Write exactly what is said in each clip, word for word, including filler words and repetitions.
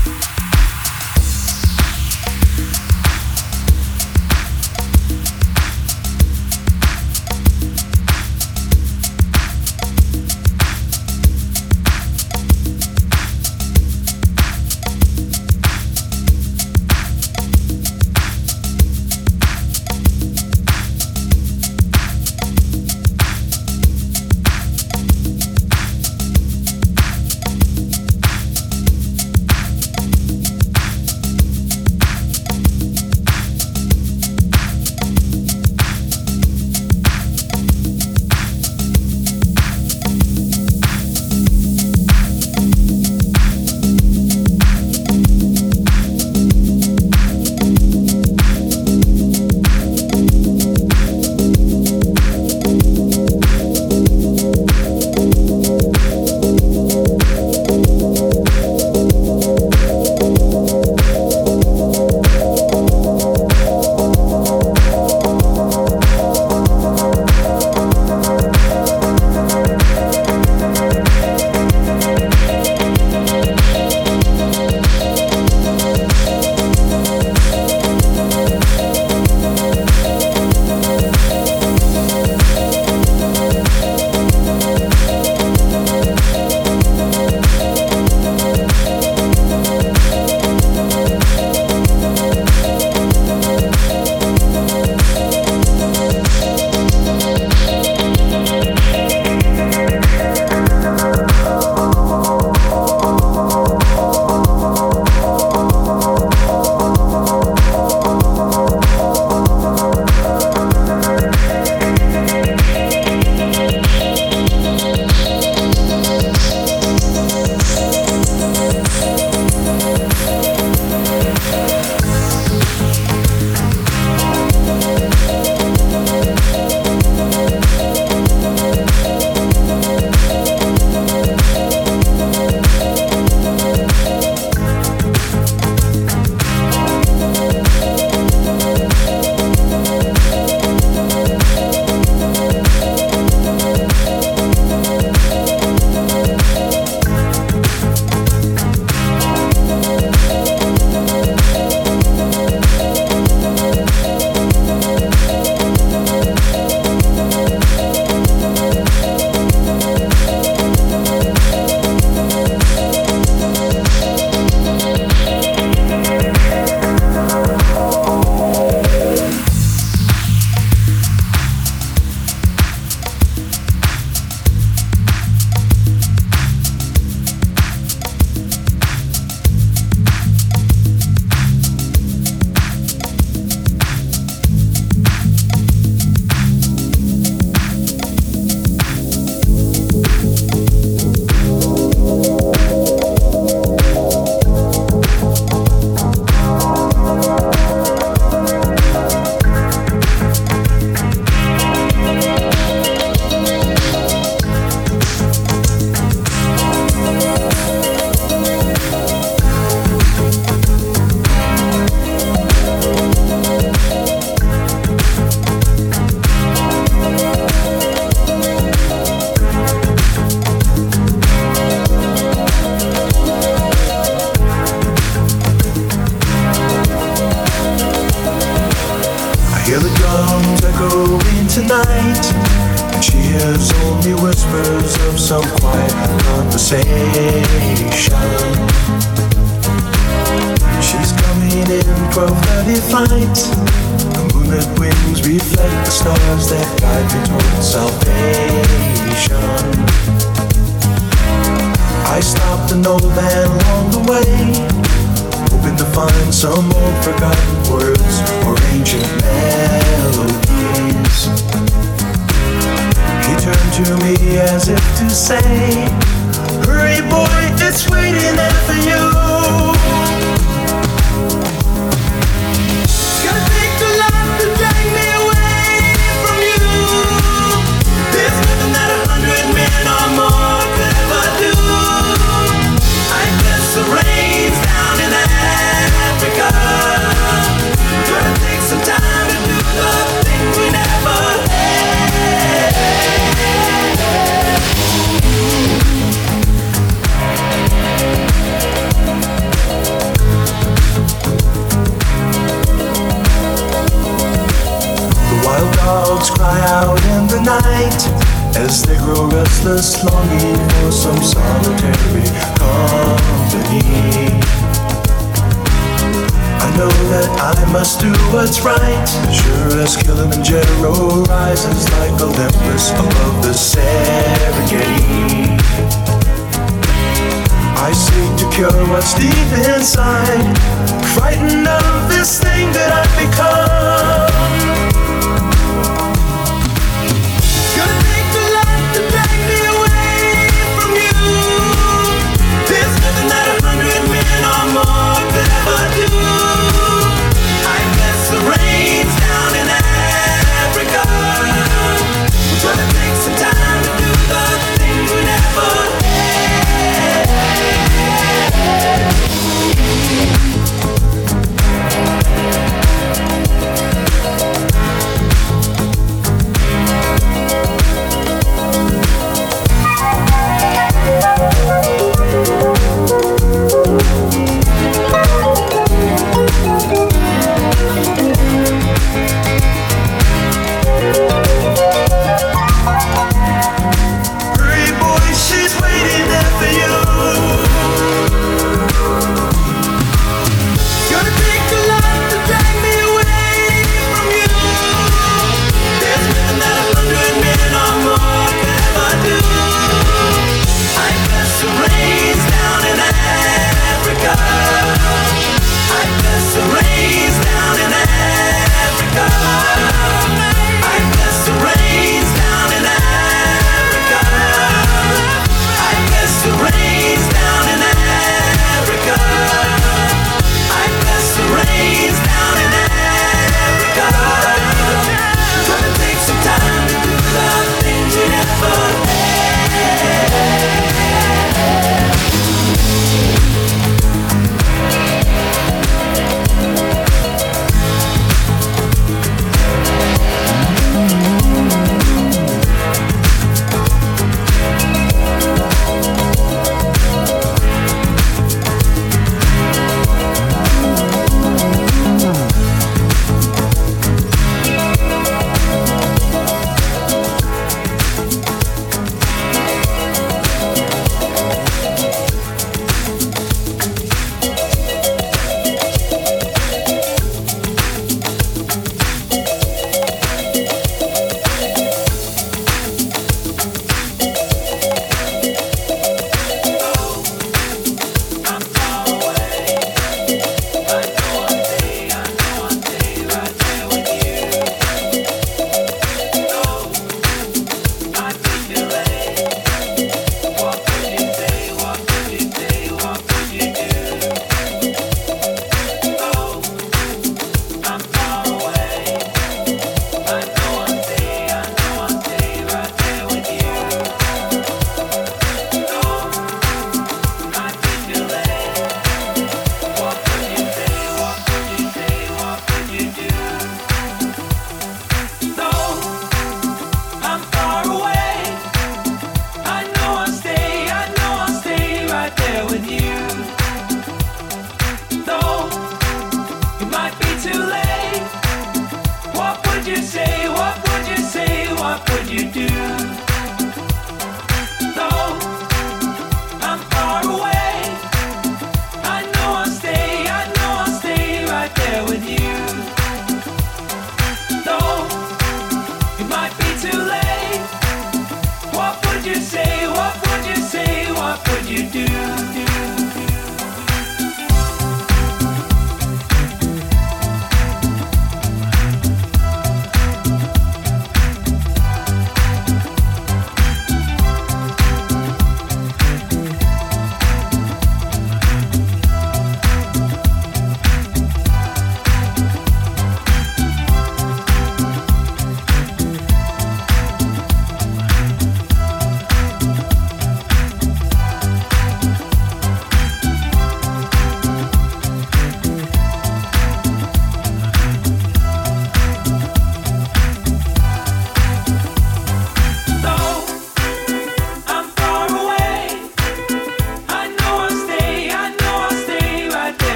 Hear the drums echoing tonight, and she hears only whispers of some quiet conversation. She's coming in twelve thirty flight. The moonlit wings reflect the stars that guide me towards salvation. I stopped an old man along the way, hoping to find some old forgotten words or ancient melodies. He turned to me as if to say, hurry boy, it's waiting there for you. It's gonna take a lot to drag me away from you. There's nothing that a hundred men or more could ever do. I guess the rain's down in Africa. We're gonna take some time to do the things we never had. night as they grow restless, longing for some solitary company. I know that I must do what's right, sure as Kilimanjaro rises like Olympus above the Serengeti. I seek to cure what's deep inside, frightened of this thing that I've become. Gonna take the light to drag me away from you. There's nothing that a hundred men or more could ever do. I bless the rains down in Africa. We're gonna take some time to do the things we never had.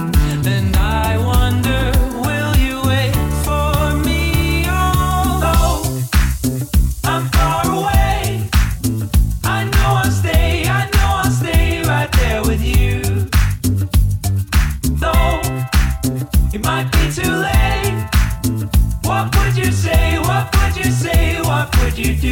And I wonder, will you wait for me? Although I'm far away, I know I'll stay, I know I'll stay right there with you. Though it might be too late, what would you say, what would you say, what would you do?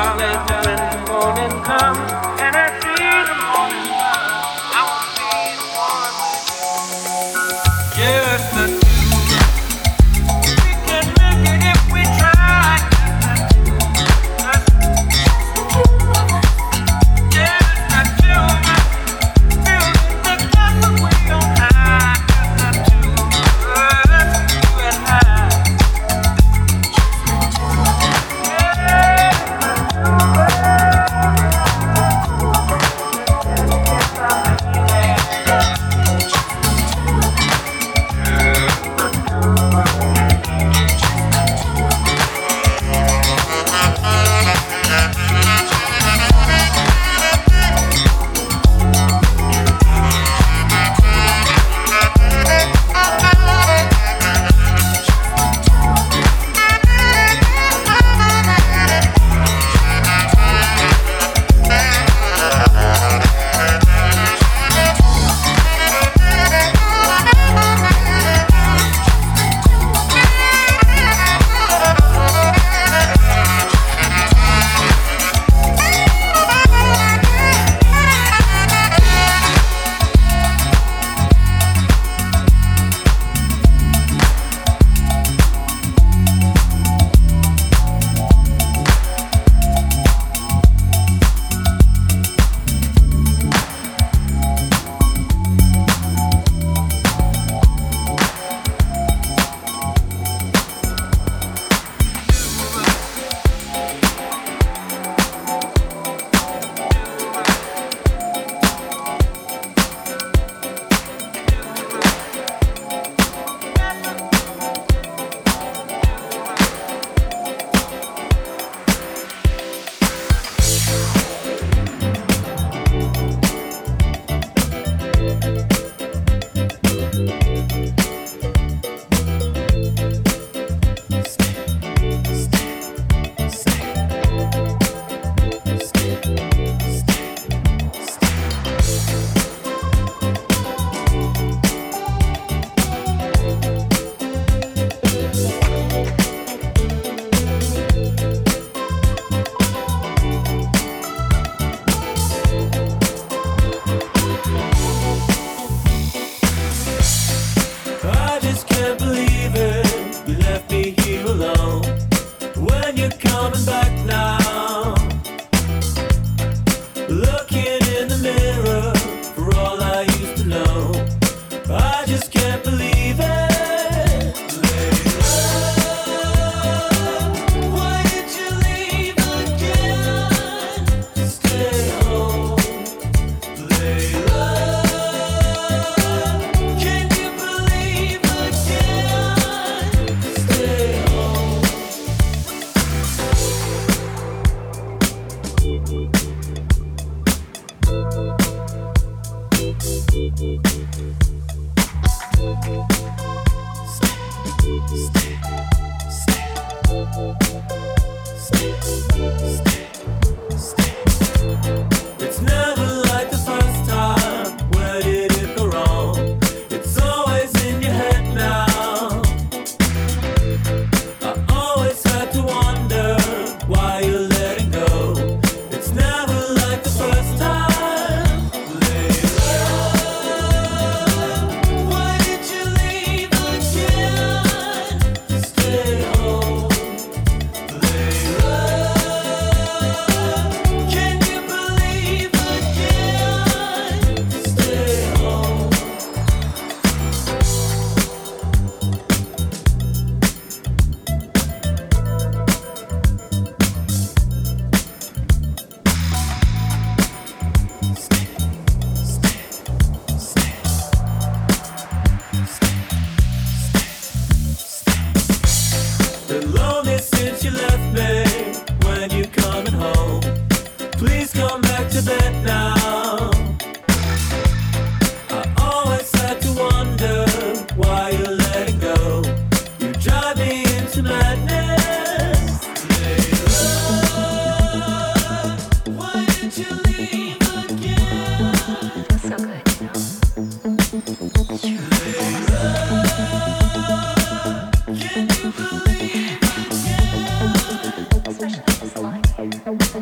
Especially if it's like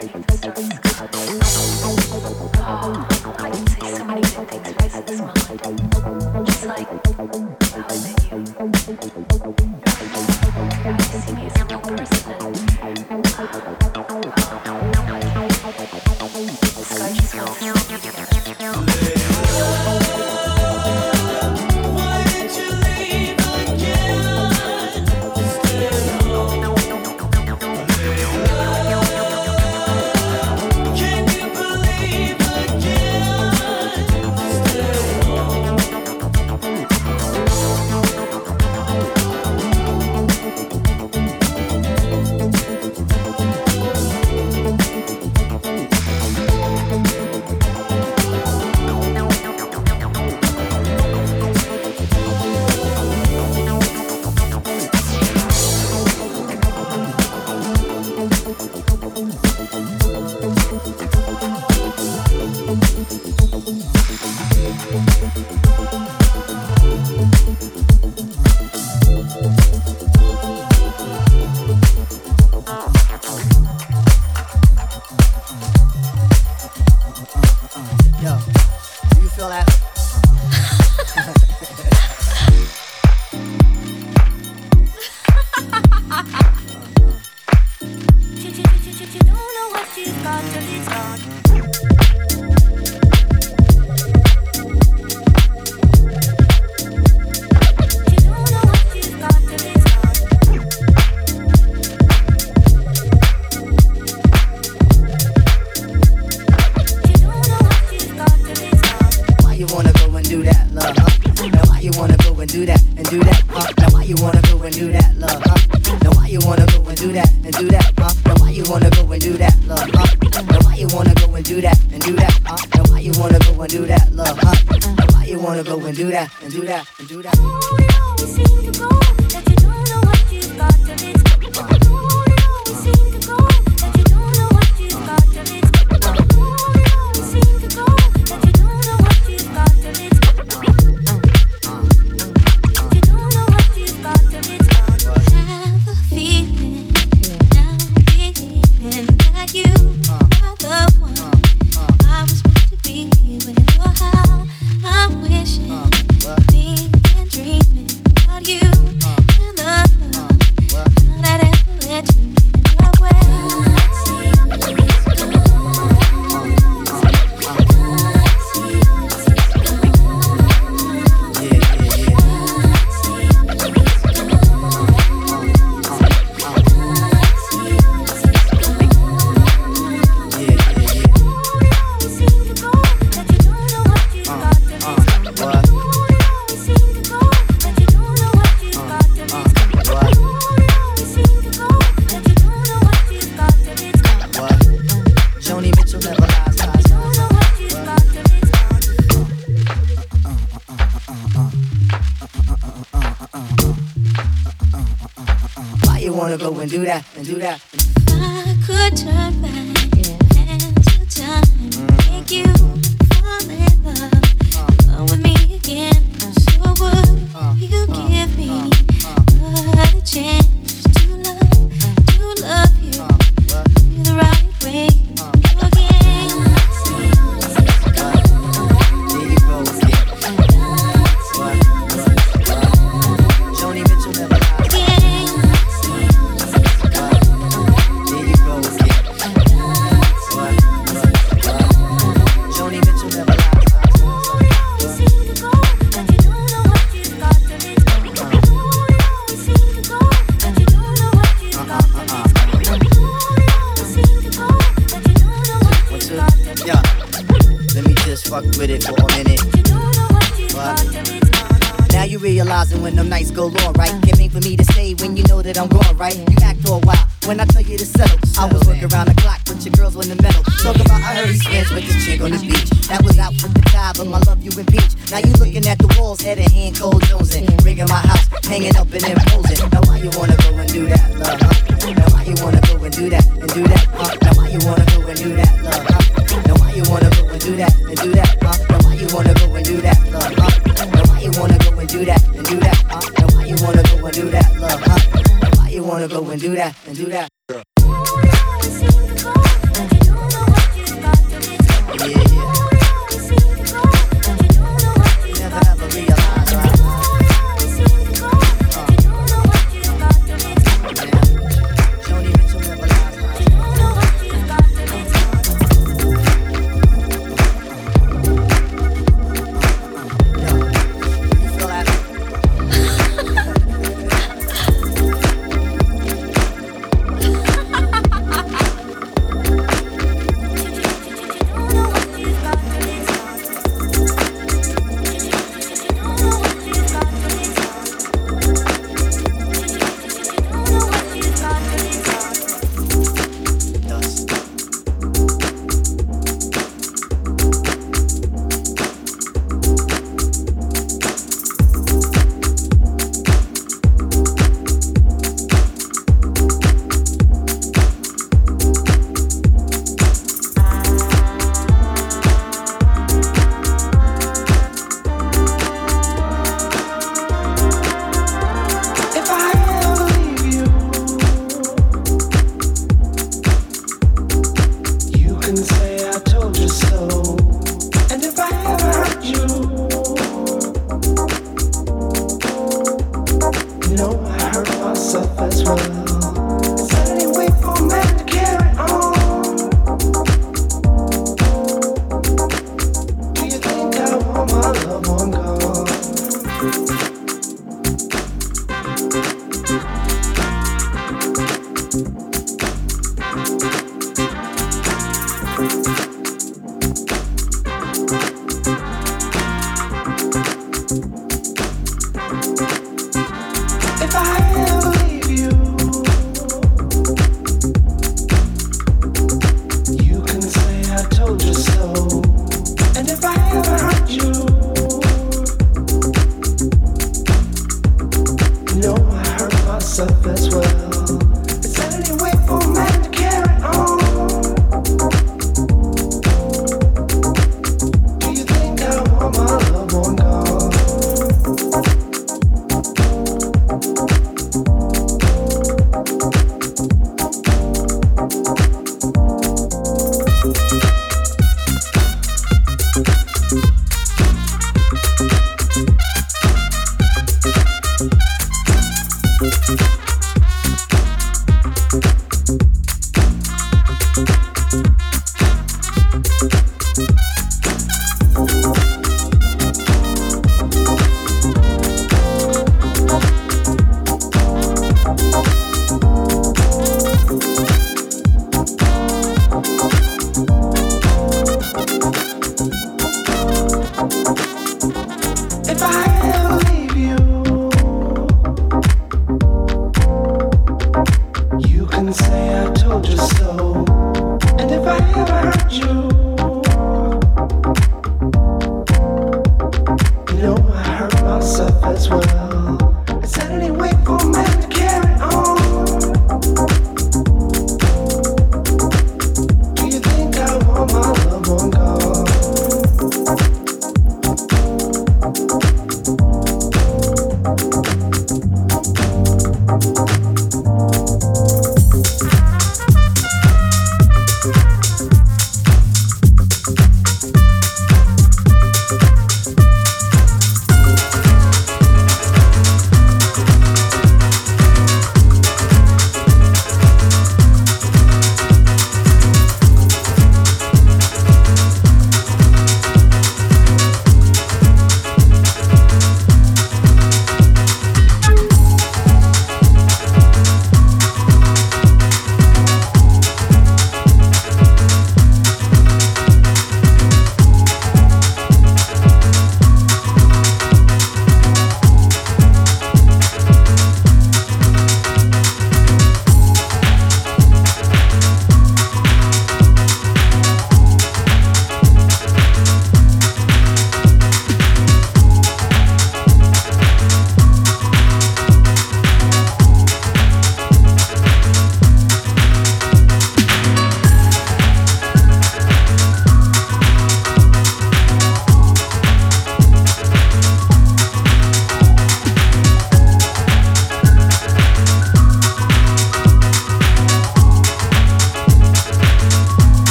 wanna go and do that and do that.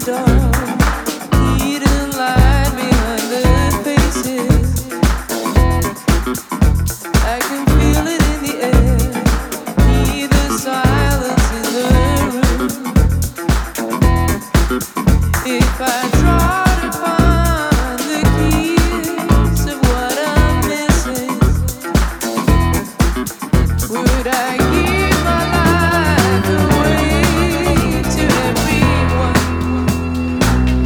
Would I give my life away to everyone?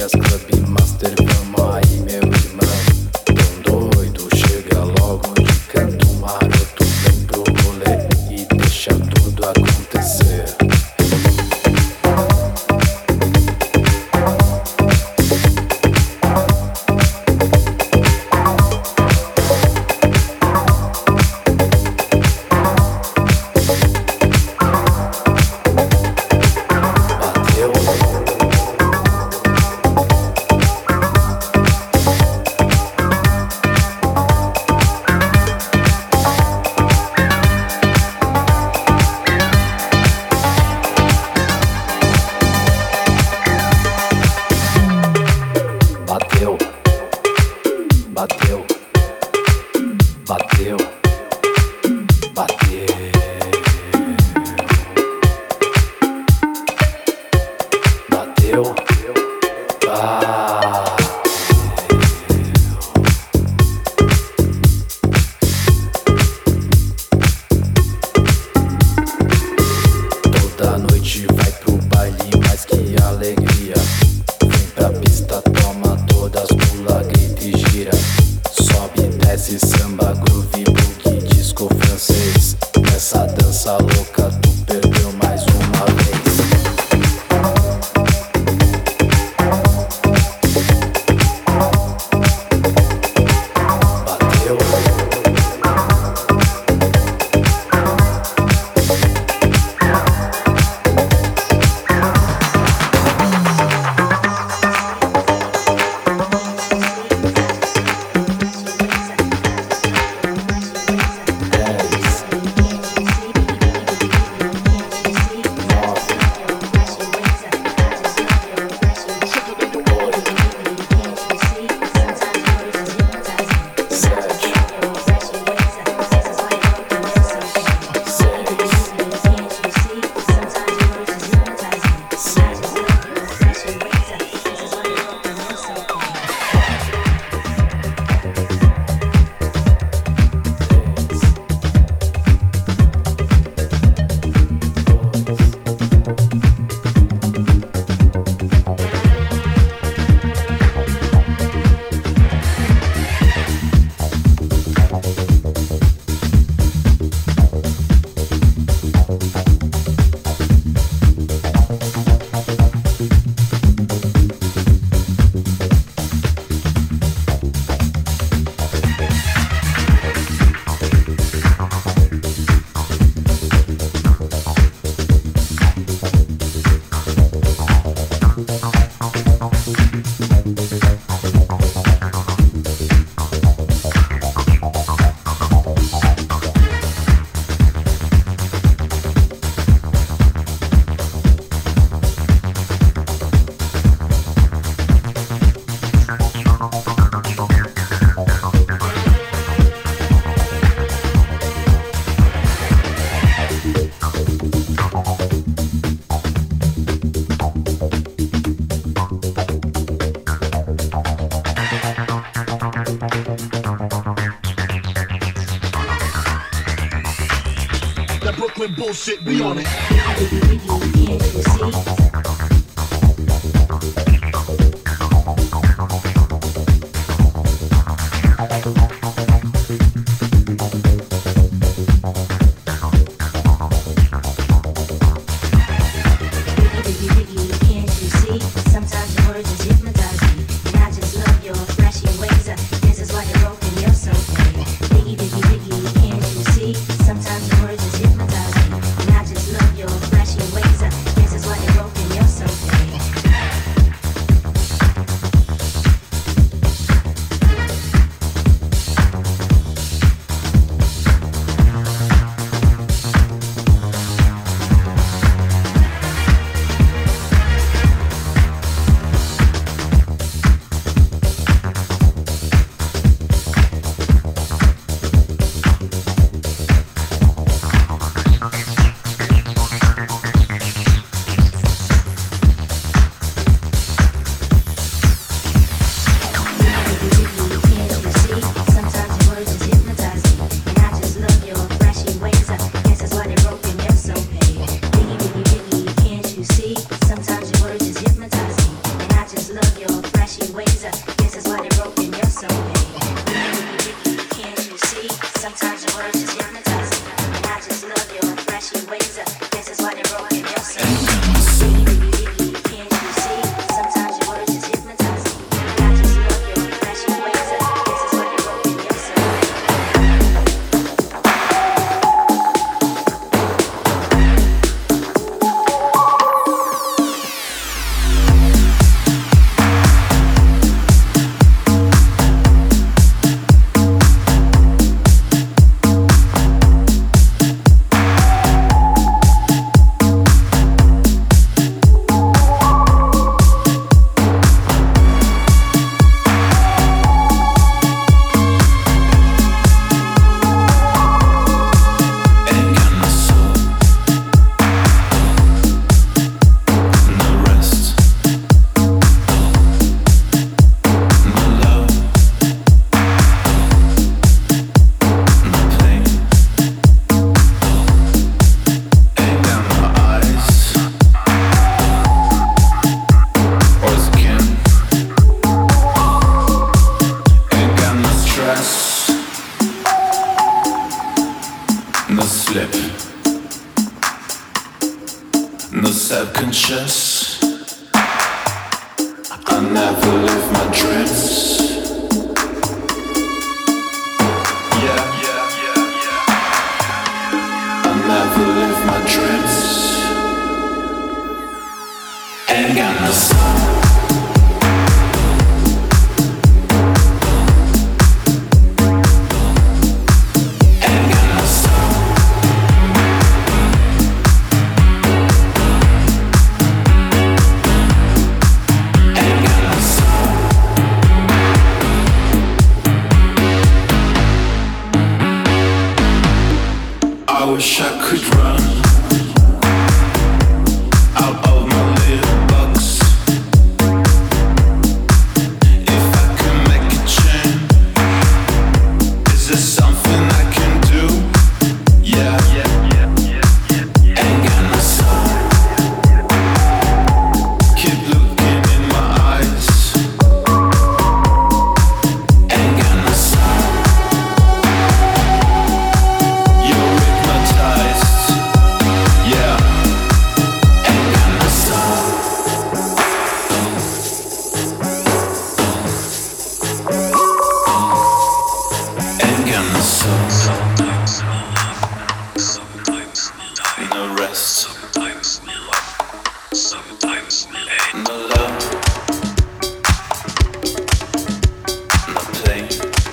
Vegas Club Master, vamos aí meu irmão. Tão doido, chega logo de canto maroto, vem pro rolê e deixa tudo acontecer. Bullshit, we on it. conscious. I never leave my dreams. Yeah, yeah, yeah, yeah. I never leave my dreams. Ain't got no soul. I wish I could run out of my little box. If I could make a change, is there something I can do? Yeah, yeah, yeah, yeah, yeah. Ain't got no soul. Keep looking in my eyes. Ain't got no soul. You're hypnotized. Yeah. Ain't got no soul. Ain't got no soul. Sometimes we love, sometimes we die. No rest. Sometimes we love, sometimes we hate. No love. No play.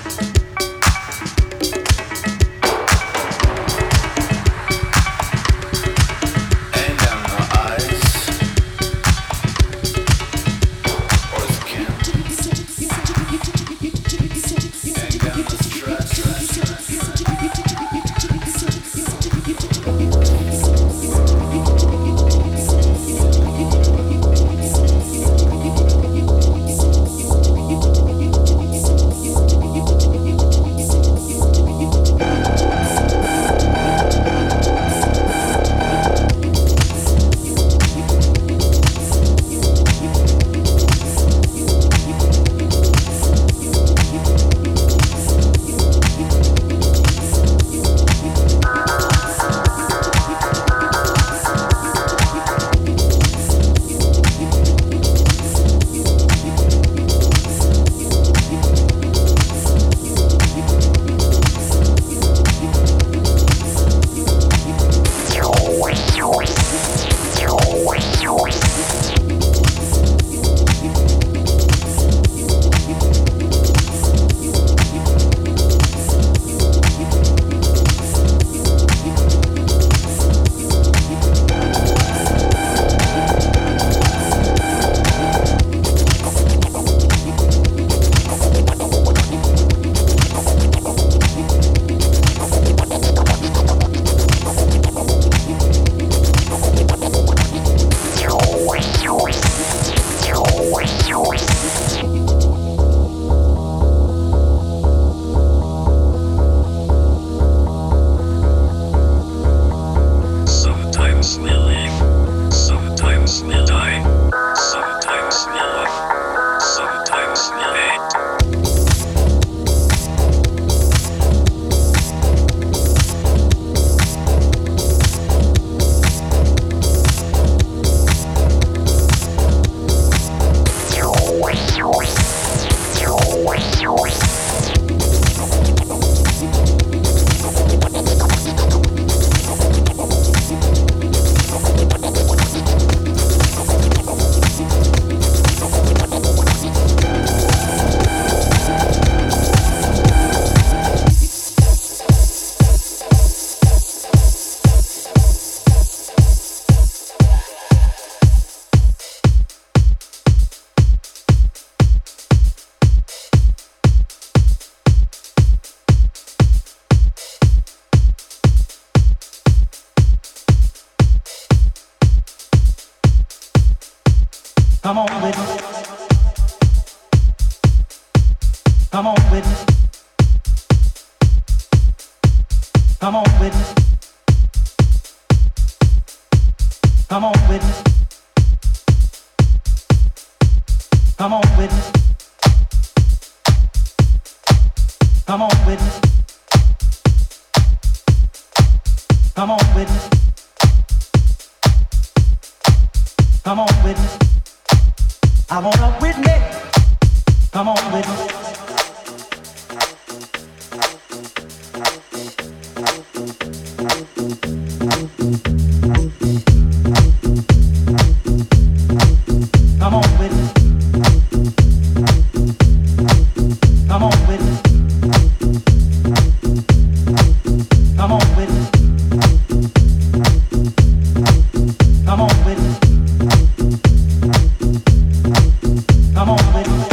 Ain't got no eyes or skin. Ain't got no stress. Sometimes we live, sometimes we die. Sometimes we love, sometimes we hate. Come on, witness. Come on, witness. Come on, witness. Come on, witness. Come on, witness. Come on, witness. Come on, witness. Come on, witness. I want a witness. Come on, witness. Come on, witness. Come on, witness. Come on, witness. Come on, witness. Come on, witness.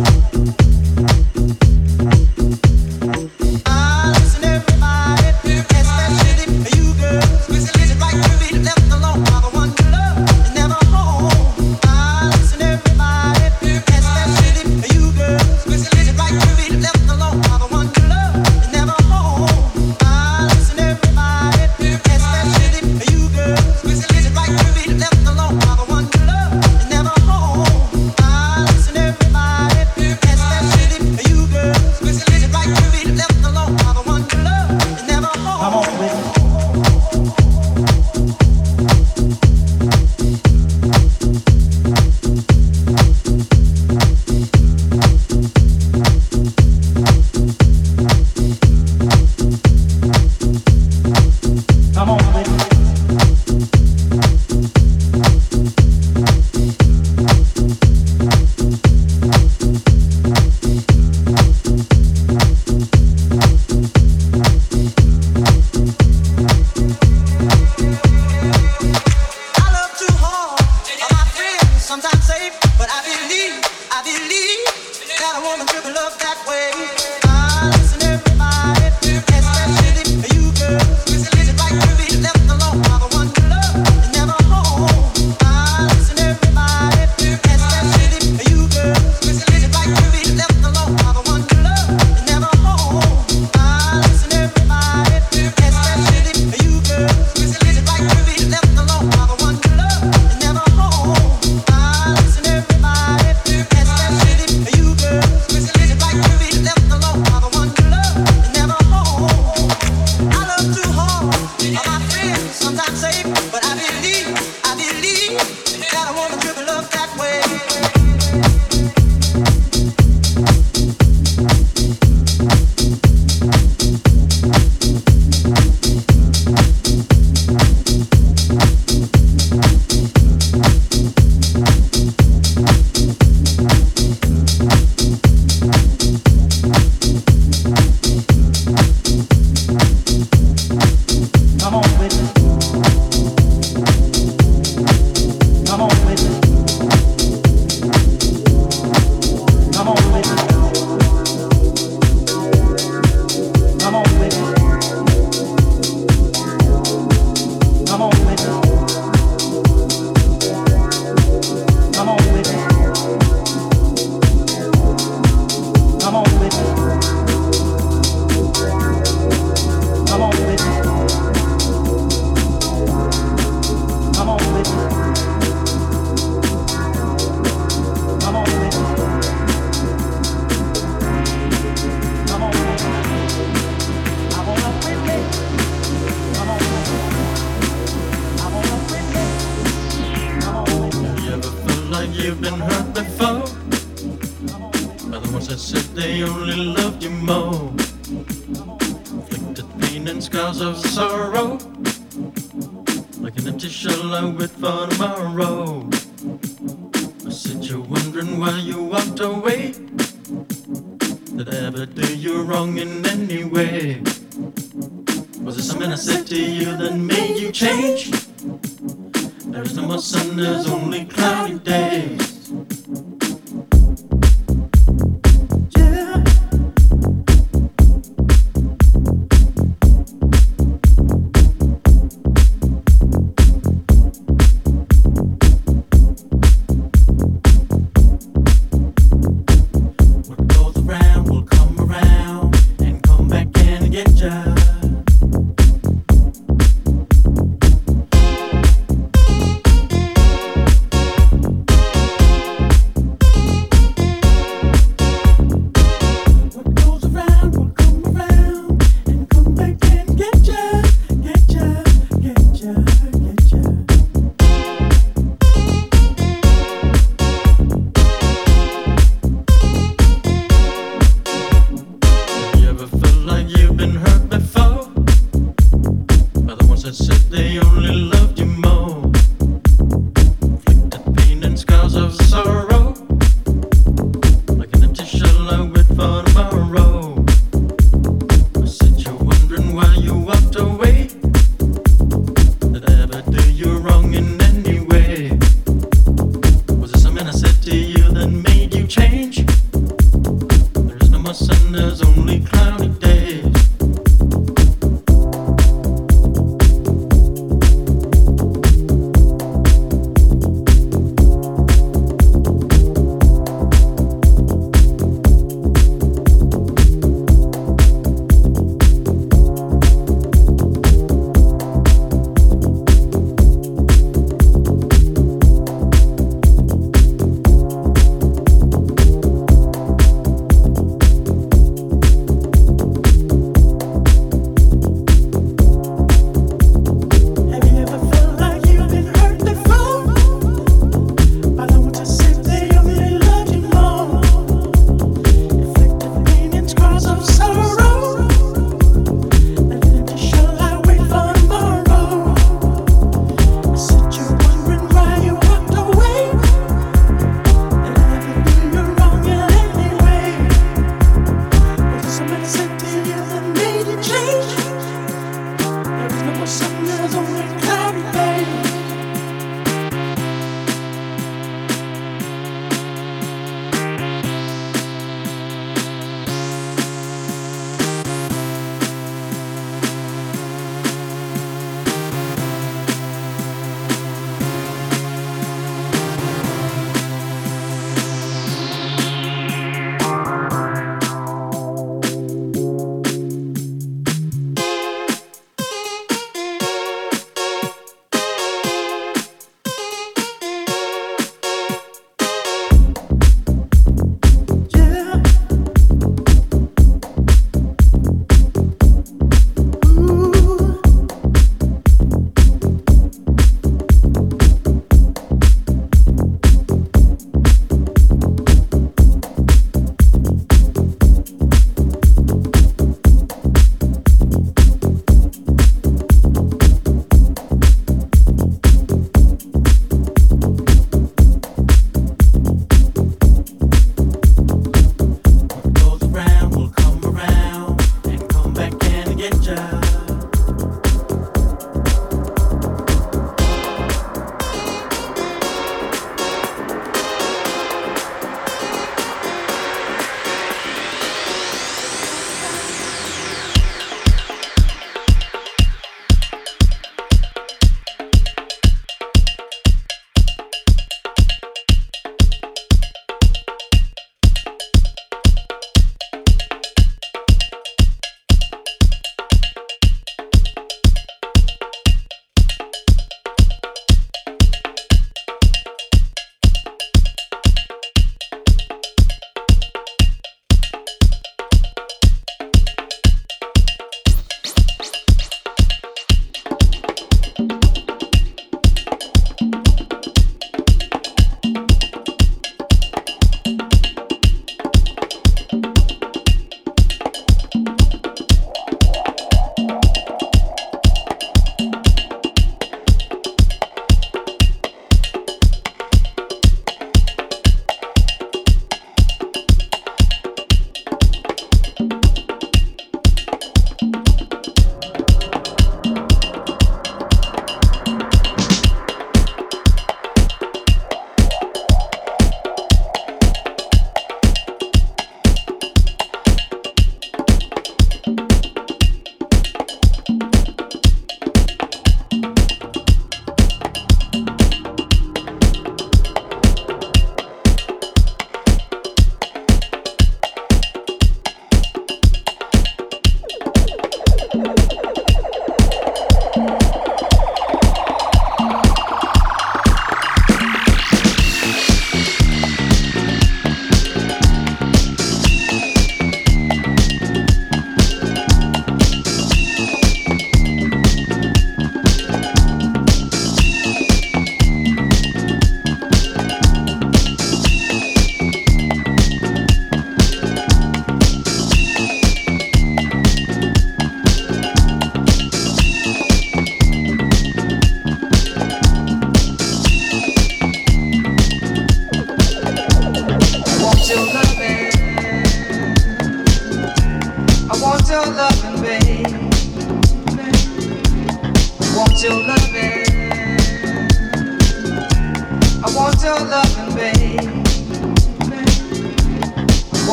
I listen everybody, especially you girls. Listen right to be left alone by the one you love and never home. I listen everybody, especially you girls. Listen right to be left alone by the one you love and never home. I listen everybody, especially you girls. Listen right to be left alone by the one you love and never home. I listen everybody, especially you girls. Listen right to be left alone by the one you love and never home. Come on, witness. Come on, witness. I love too hard. My friends sometimes say, but I believe, I believe that a woman should be loved that way. I listen everybody, especially you girls. Listen right to be left alone by the one you love and never home. I listen everybody, especially you girls. Listen right to be left alone by the one you love and never home. I listen everybody, especially you girls. Listen right to be left alone by the one you love and never home. I listen everybody, especially you girls. Listen right to be left alone by the one you love and never home. I love too hard. My friends sometimes say, but I believe, I believe that a woman should be loved that way. Come on, witness. Come on, witness. Come on, witness. Come on, witness. Come on, witness. Come on, witness. Come on, witness. Come on, witness. Come on, witness. Come on, witness. Come on, witness. I want a witness. Come on, witness. I want a witness. Come on, witness. You ever felt like you've been hurt before? Come on, witness. By the ones that said they only loved you more. Inflicted pain and scars of sorrow, like an empty shell I wait for tomorrow. I said you're wondering why you walked away. Did I ever do you wrong in any way? Was it something I said to you that made you change? There is no more sun, there's only cloudy days. Yeah. What goes around will come around and come back and get ya.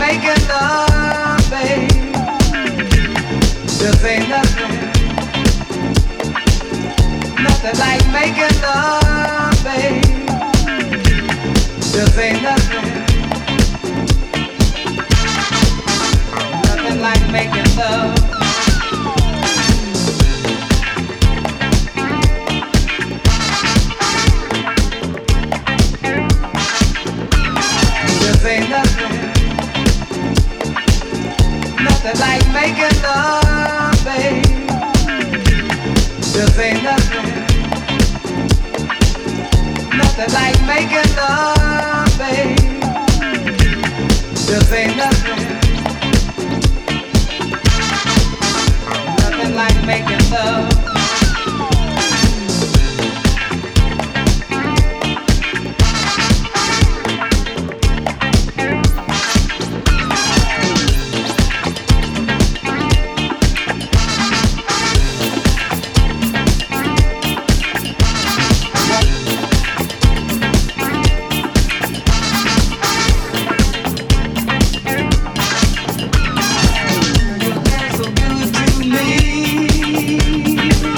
making love, babe. Just ain't nothing. Nothing like making love, babe. Just ain't nothing. Nothing like making love. Just ain't nothing. Nothing like making love, babe. Just ain't nothing. Nothing like making love, babe. Just ain't nothing. Nothing like making love. So good to me.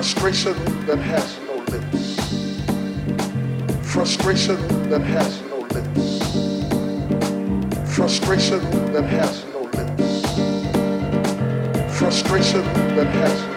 Frustration that has no lips. Frustration that has no lips. Frustration that has no lips. Frustration that has no lips.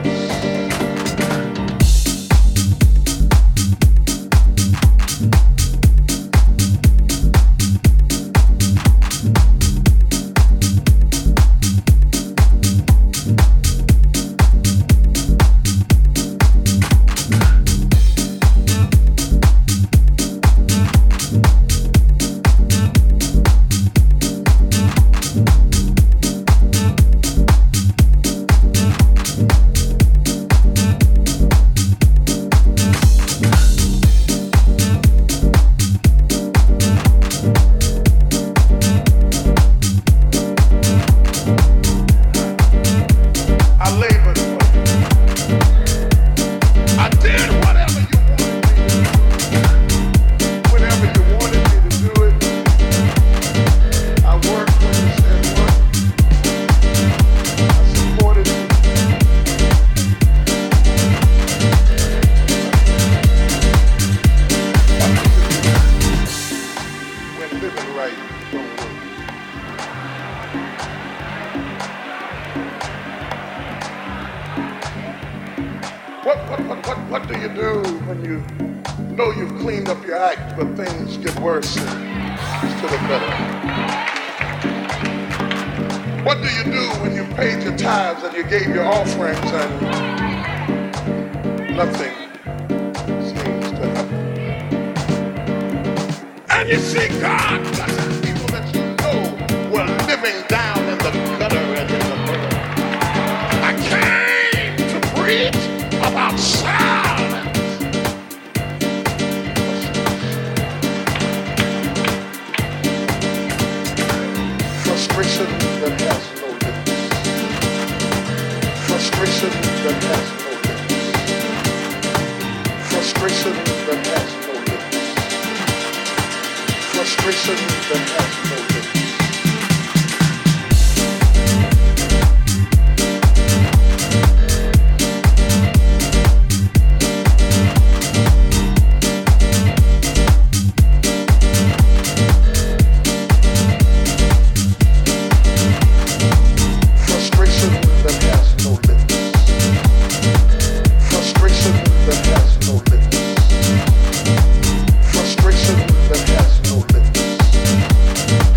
What, what, what, what, what do you do when you know you've cleaned up your act, but things get worse instead of better? What do you do when you paid your tithes and you gave your offerings and nothing seems to happen? And you see God blessing people that you know were living down in the gutter and in the mud. I came to preach about silence. Frustration that has no lips. Frustration that has no lips. Frustration that has no lips. Frustration that has no lips. Frustration that has no lips.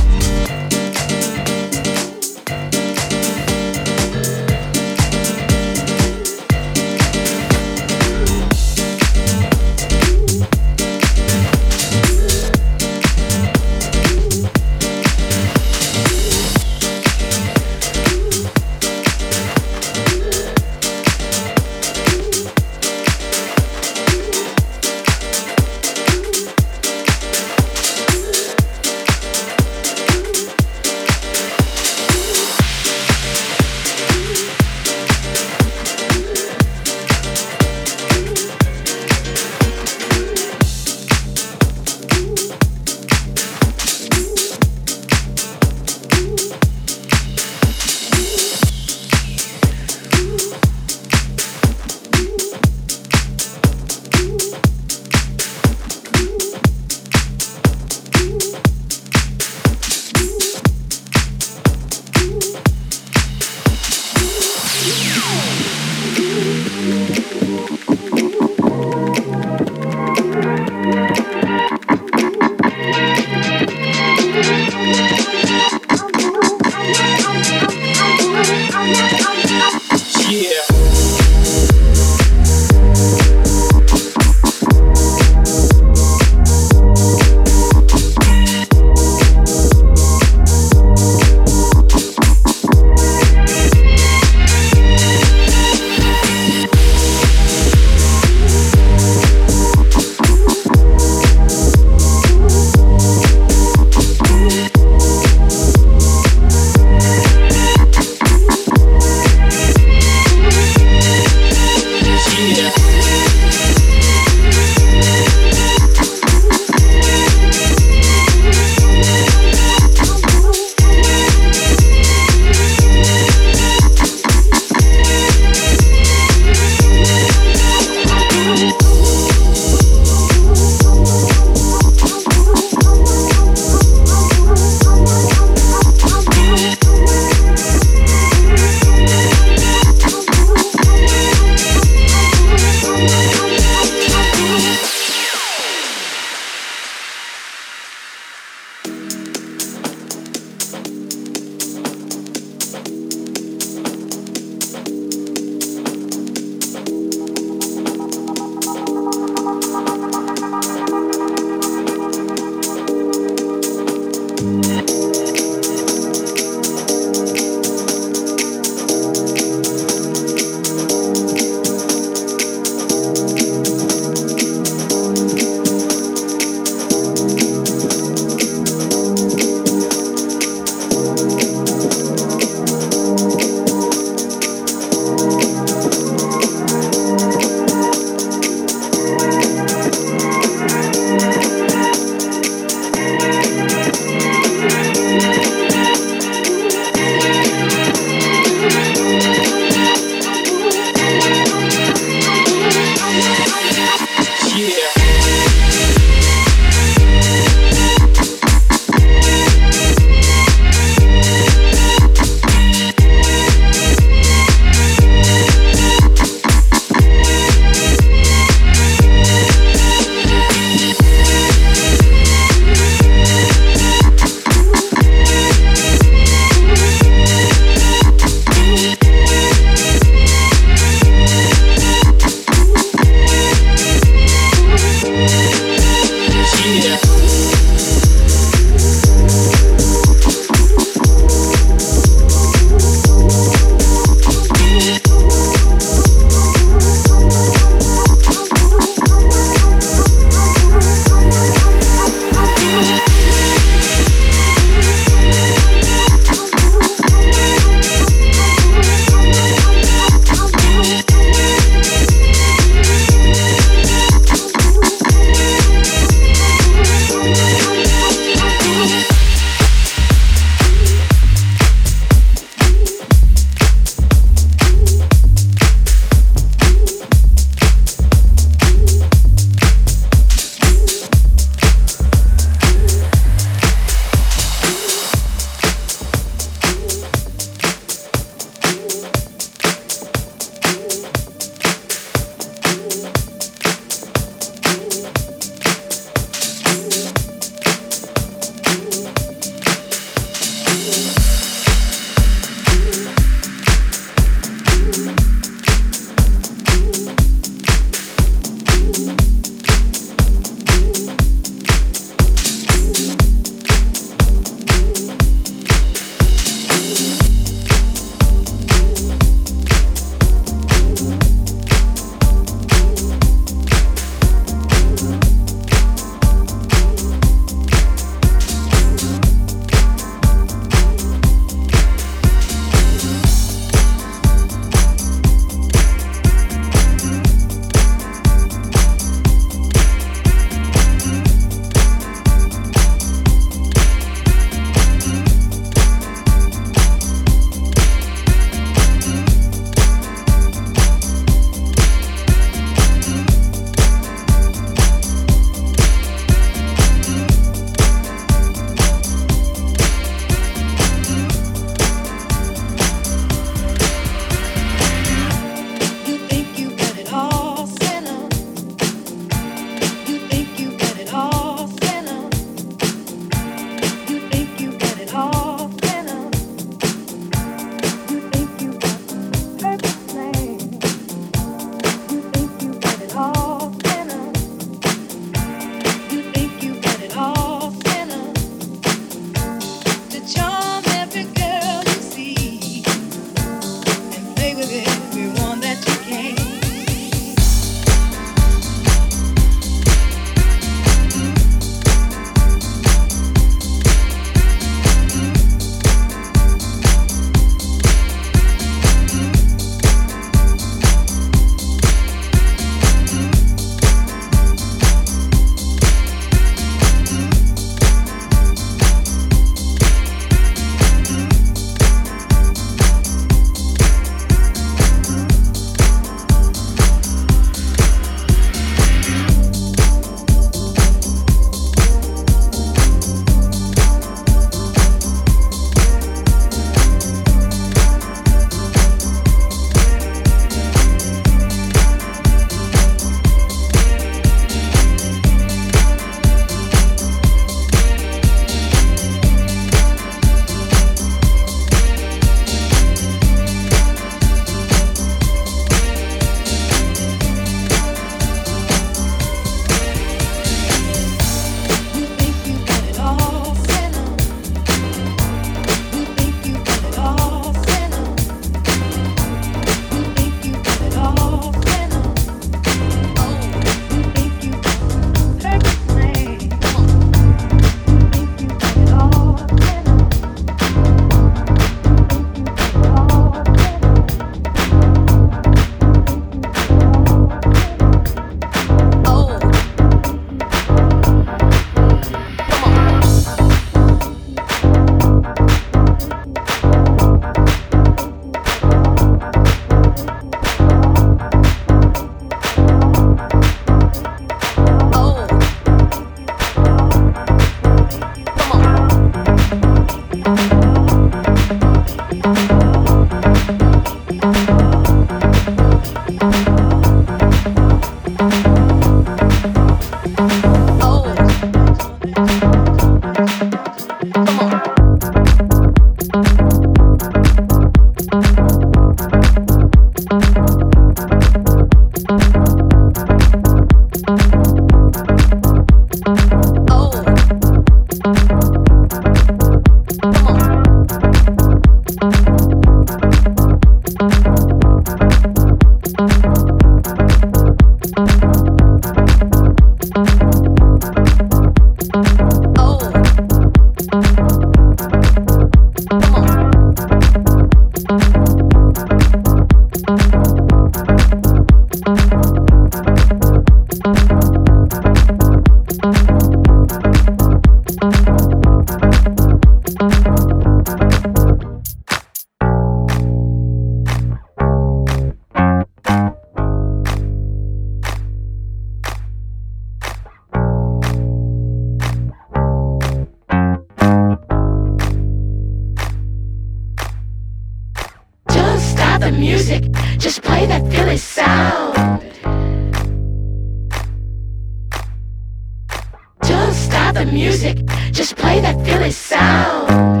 music, just play that Philly sound.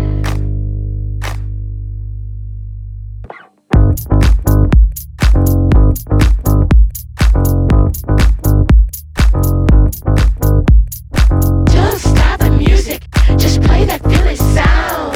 Don't stop the music, just play that Philly sound.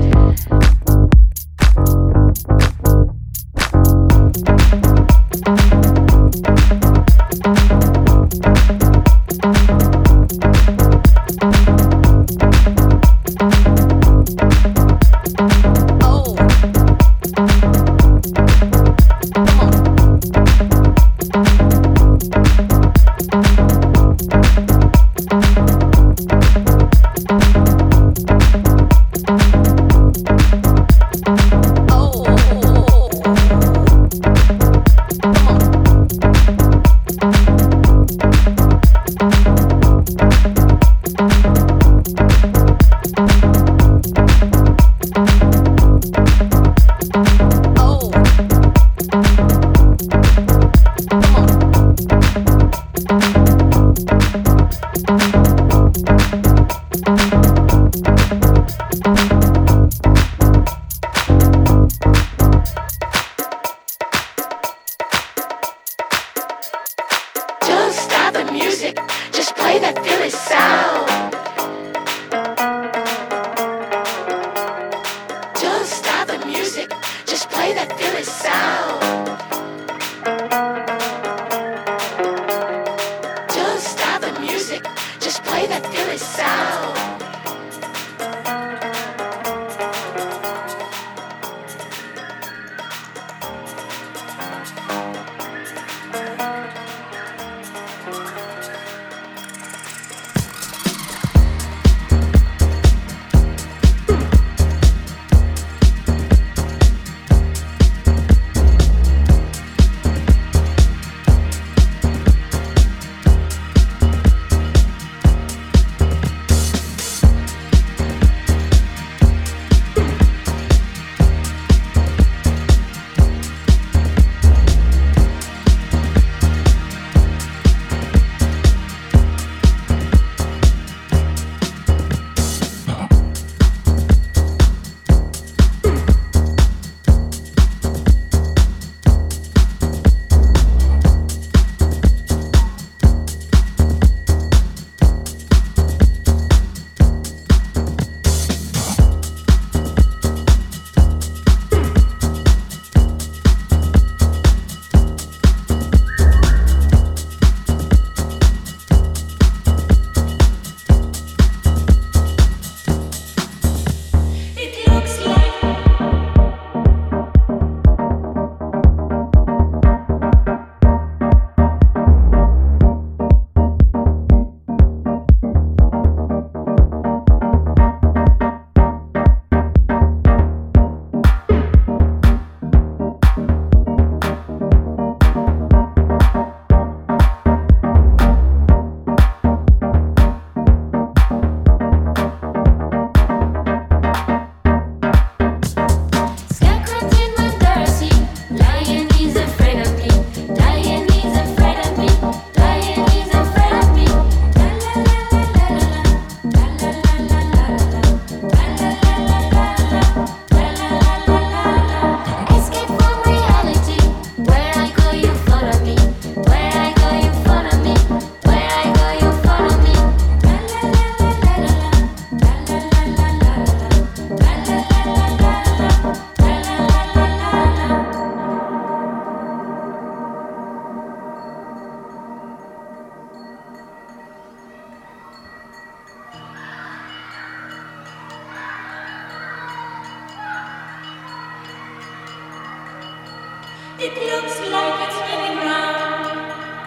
It looks like it's spinning round.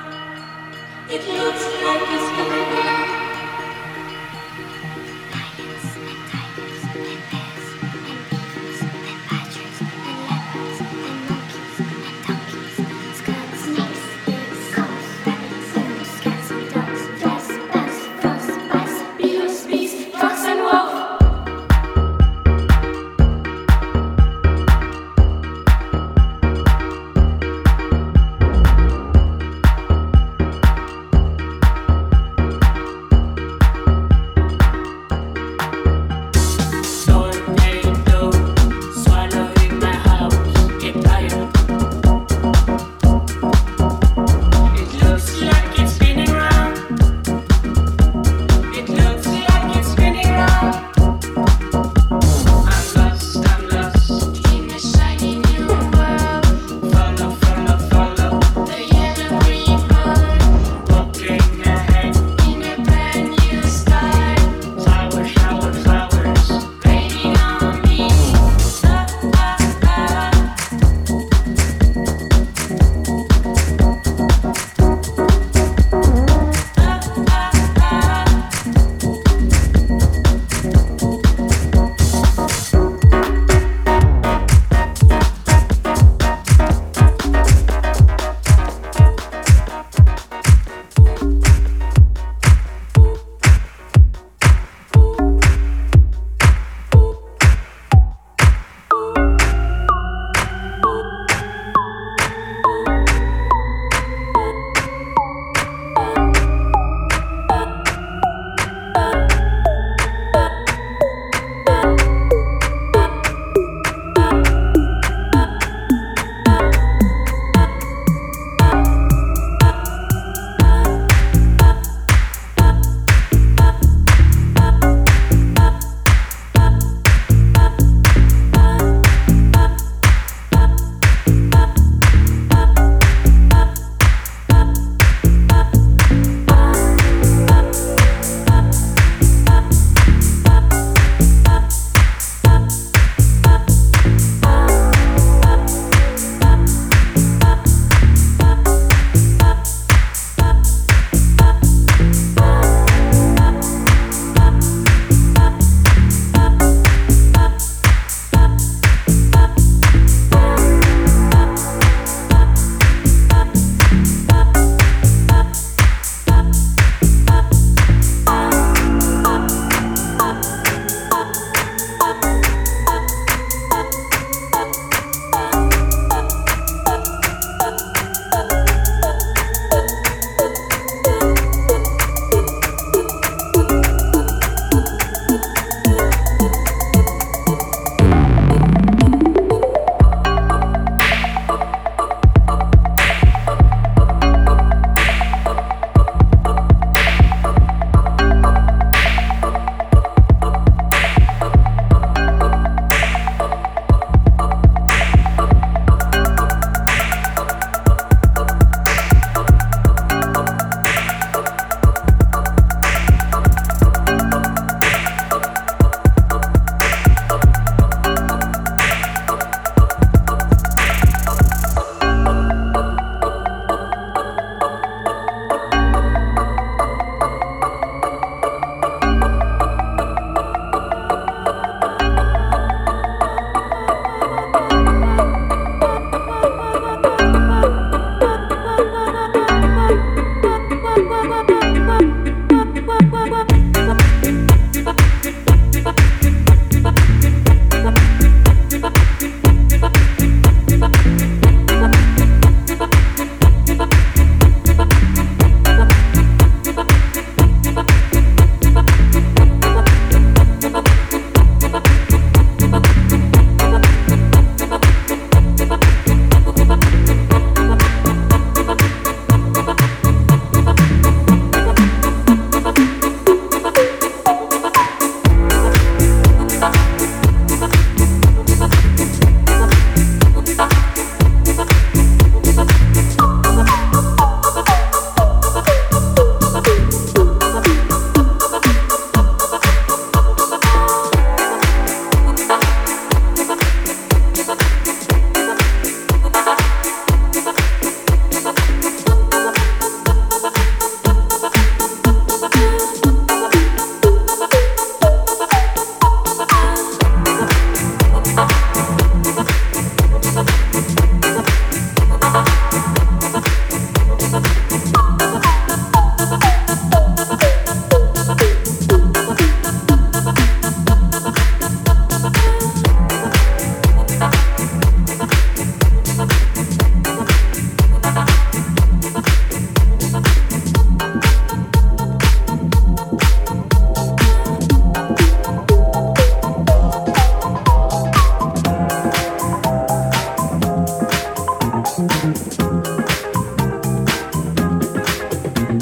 It looks like it's spinning round. Lions and tigers and bears and beavers and badgers and leopards and monkeys and donkeys, skunks, snakes, pigs, goats, rabbits, moose, cats and dogs, mice, bats, frogs, mice, beetles, bees, fox and wolf.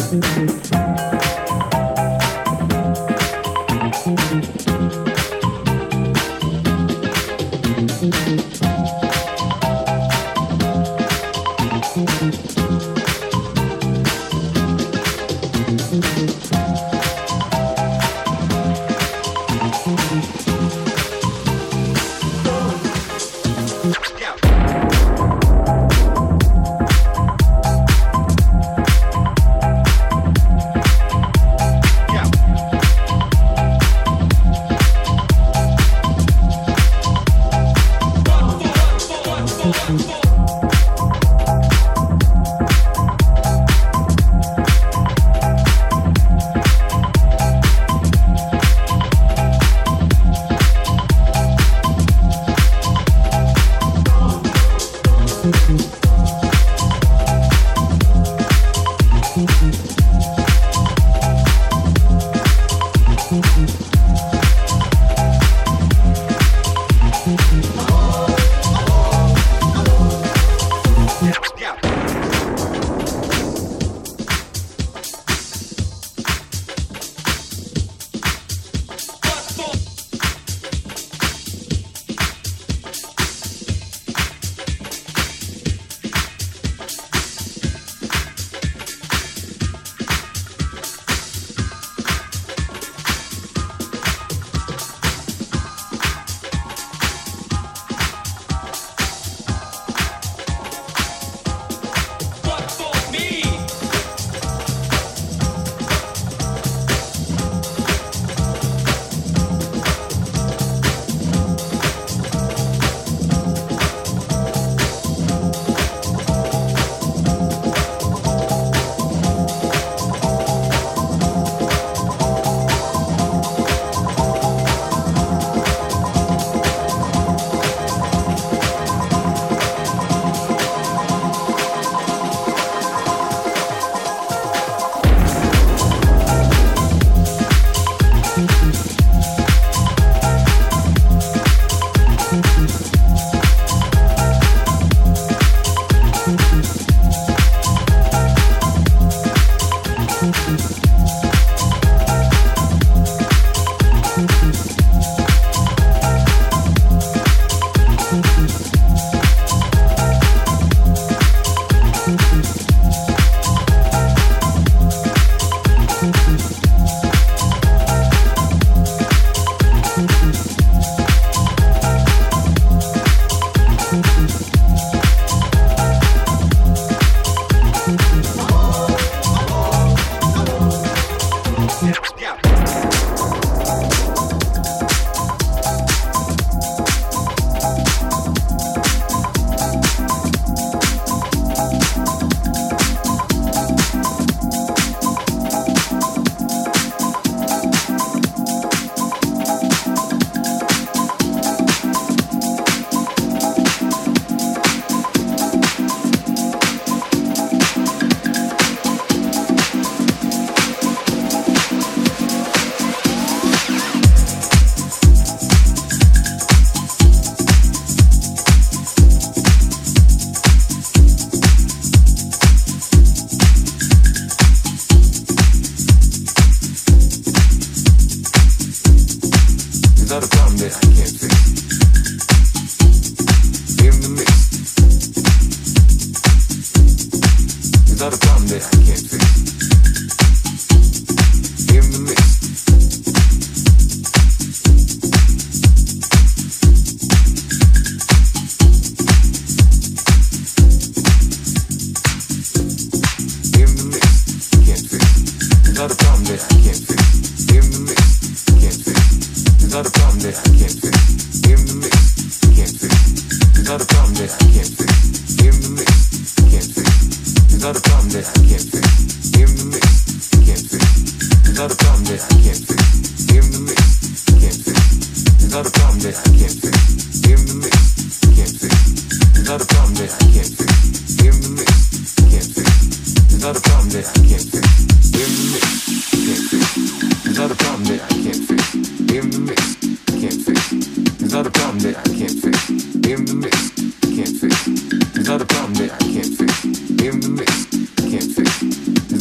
Not a problem that I can't fix. In the mix, can't fix. There's not a problem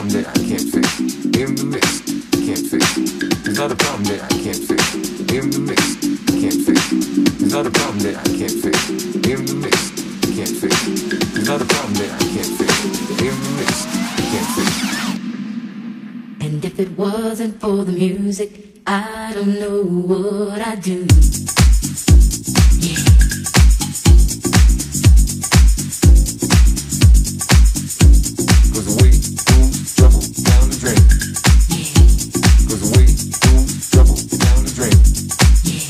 problem that I can't fix. In the mix, can't fix. It's not a problem that I can't fix. In the mix, can't fix. It's not a problem that I can't fix. In the mix, can't fix. It's not a problem that I can't fix. In the mix, can't fix. And if it wasn't for the music, I don't know what I'd do. Yeah. Cause we move trouble down the drain. Yeah. Cause we move trouble down the drain. Yeah.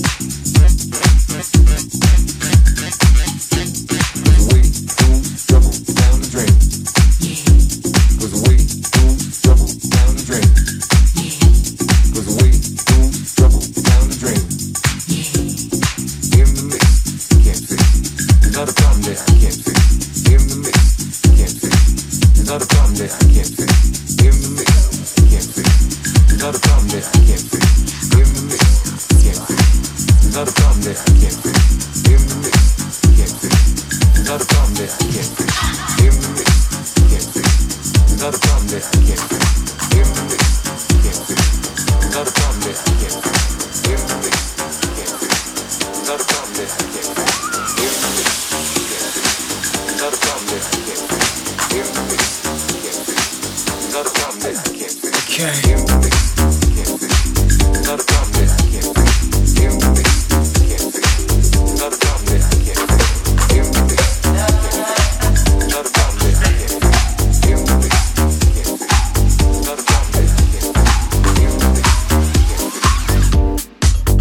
Cause we move trouble down the drain. Yeah. Cause we move trouble down the drain. Yeah. Cause we move trouble down the drain. Yeah. In the mix, can't fix. It's not a problem that I can't fix. In the mix, can't fix. It's not a problem that I can't fix. In the mix, can't fix. It's not a problem that I can't fix. In the mix, can't fix. It's not a problem that I can't fix. In the mix, can't fix. It's not a problem that I can't fix. In the mix, can't fix. It's not a problem that I can't fix. In the mix, can't fix. It's not a problem that I can't fix. In the mix, can't fix. It's not a problem that I can't fix. In the mix, can't fix. It's not a problem that I can't fix. In the mix, can't fix. It's not a problem that I can't fix. Okay. In the mix, can't fix. It's not a problem that I can't fix. In the mix, can't fix. It's not a problem that I can't fix. In the mix, can't fix. It's not a problem that I can't fix. In the mix, can't fix. It's not a problem that I can't fix. In the mix, can't fix.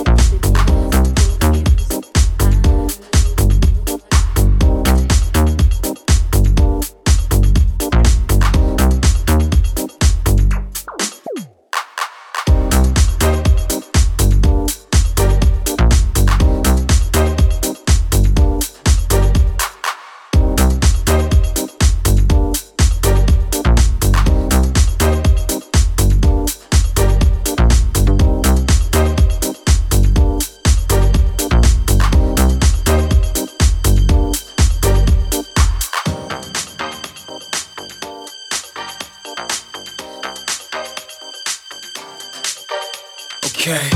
Okay.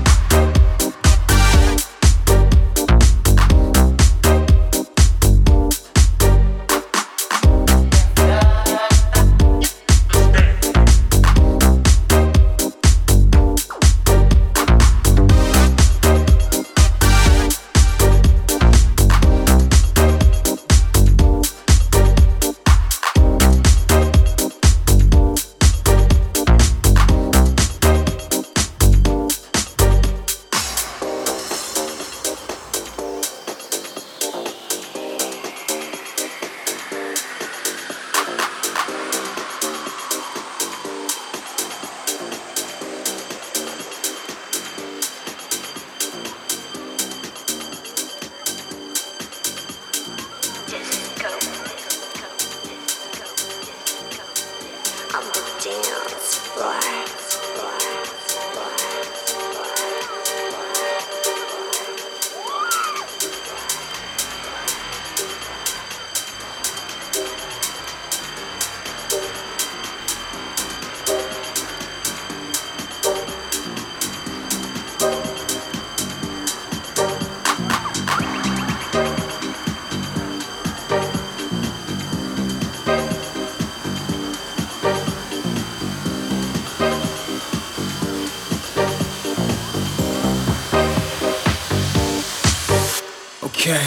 Okay.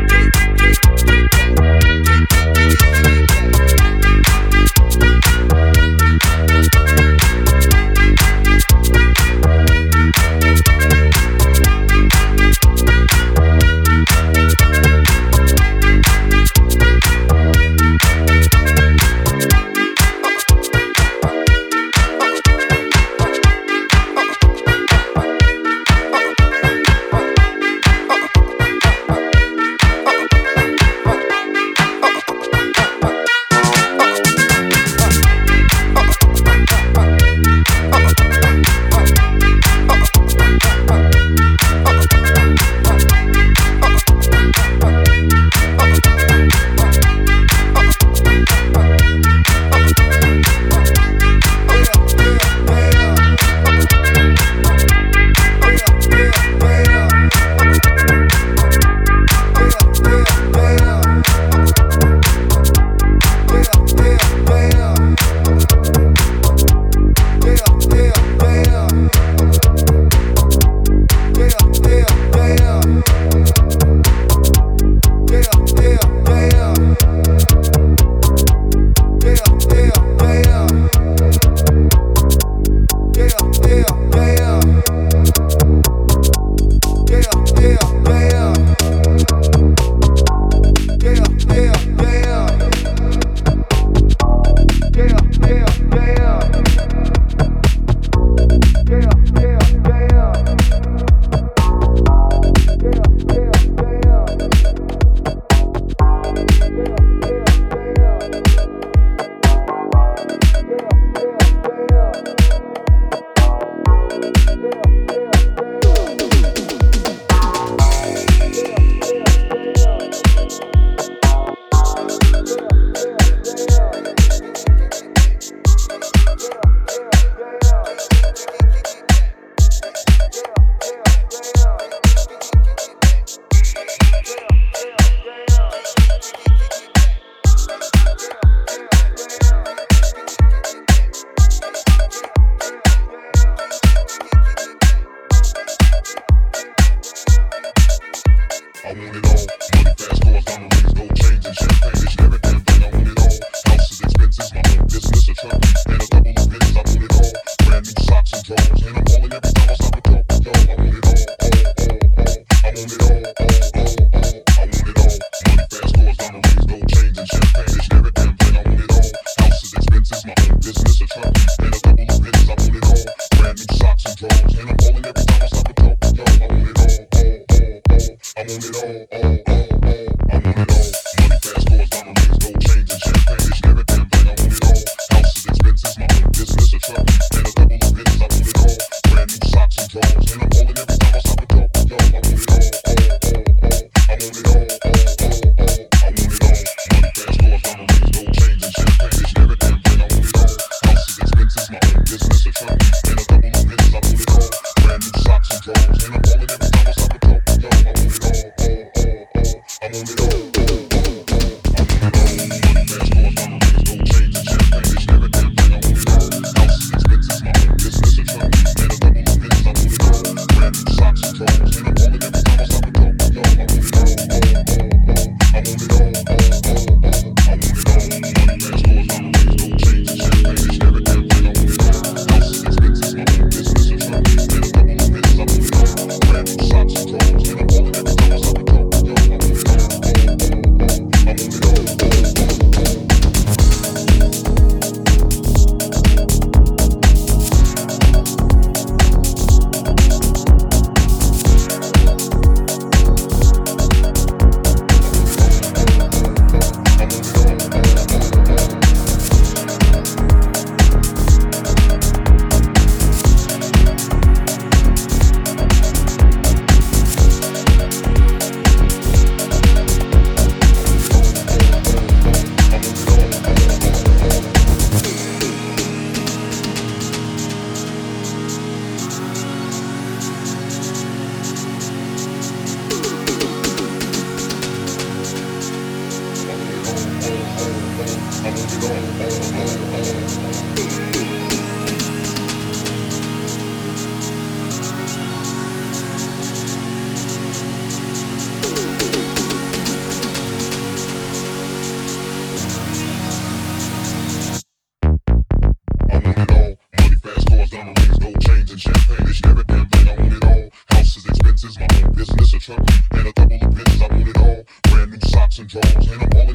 And I'm all in every time I stop and talk, yo, I want it all.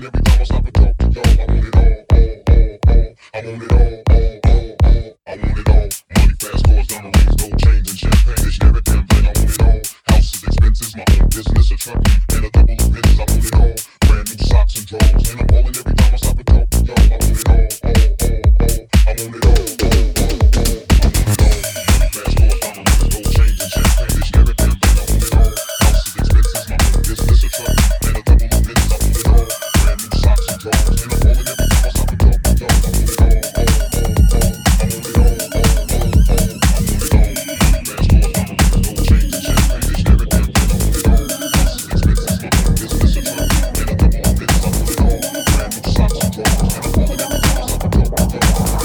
every time I stop and talk to y'all. I want it all, all, all, all. I want it all, all, all, all. I want it all. Money, fast cars, diamond rings, gold chains, and champagne. It's every damn thing. I want it all. Houses, expenses, my own business, a truck, and a double of pennies. I want it all. Brand new socks and drawers, and I'm balling every time I stop and talk to y'all. I want it all, all, all, all. I want it all, all, all, all. I want it all. Money, fast cars, diamond rings, gold chains, and champagne. It's every damn thing. I want it all. Houses, expenses, my own business, a truck, and a double of pennies. I want it all. Brand new socks and drawers, and I'm balling every time I stop and talk to y'all. I want it all, all, all, all. I want it all, all, all, all. I want it all. Money, fast cars, diamond rings, gold chains, and champagne. It's every damn thing. I want it all. Houses, expenses, my own business, a truck, and a double of pennies. I want it all. Brand new socks and drawers, and I'm balling every time I stop and talk to y'all. I want it all, all,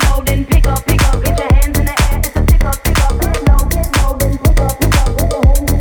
Pick up, pick up, get your hands in the air. It's a stick up, stick up, get low, get low, then pick up, pick up, get your hands in the air.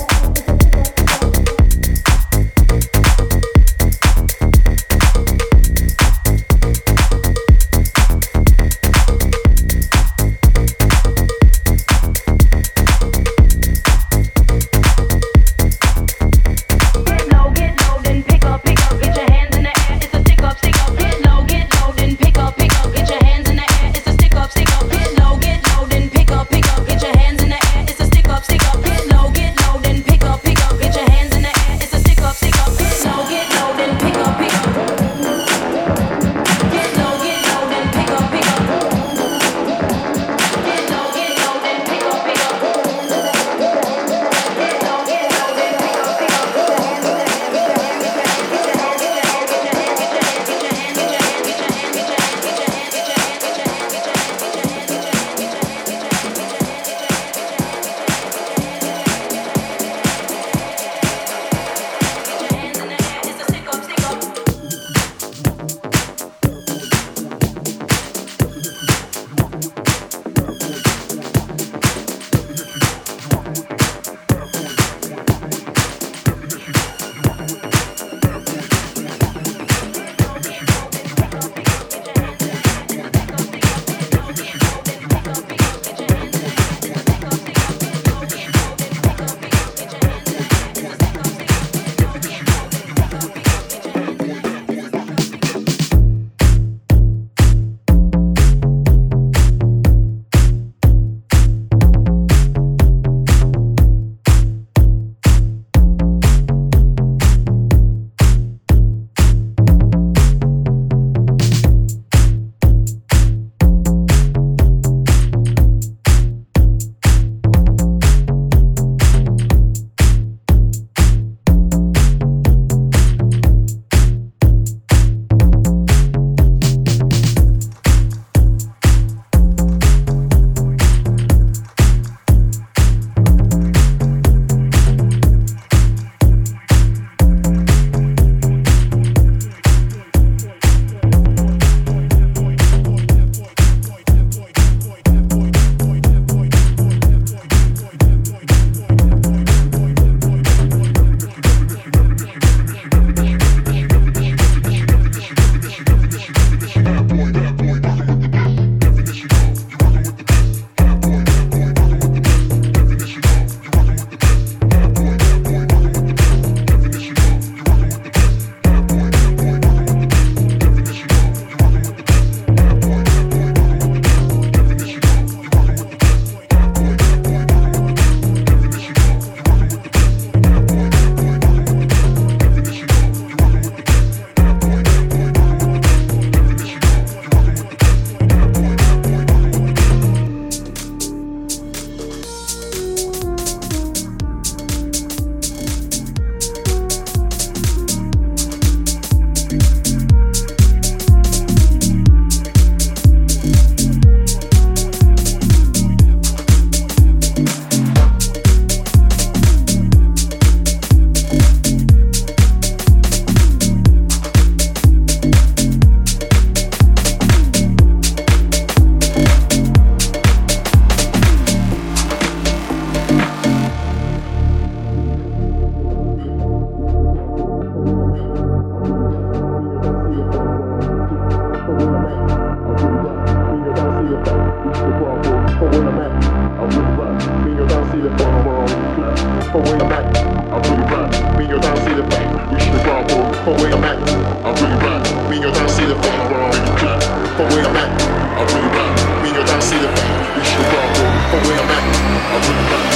from where I'm at. I'm really back. Me and your down see the fact. We should have gone from where I'm at. I'm really back. Me and your down see the fact. From where I'm at. I'm really back. Me and your down see the fact. We should have gone from where I'm at. I'm really back.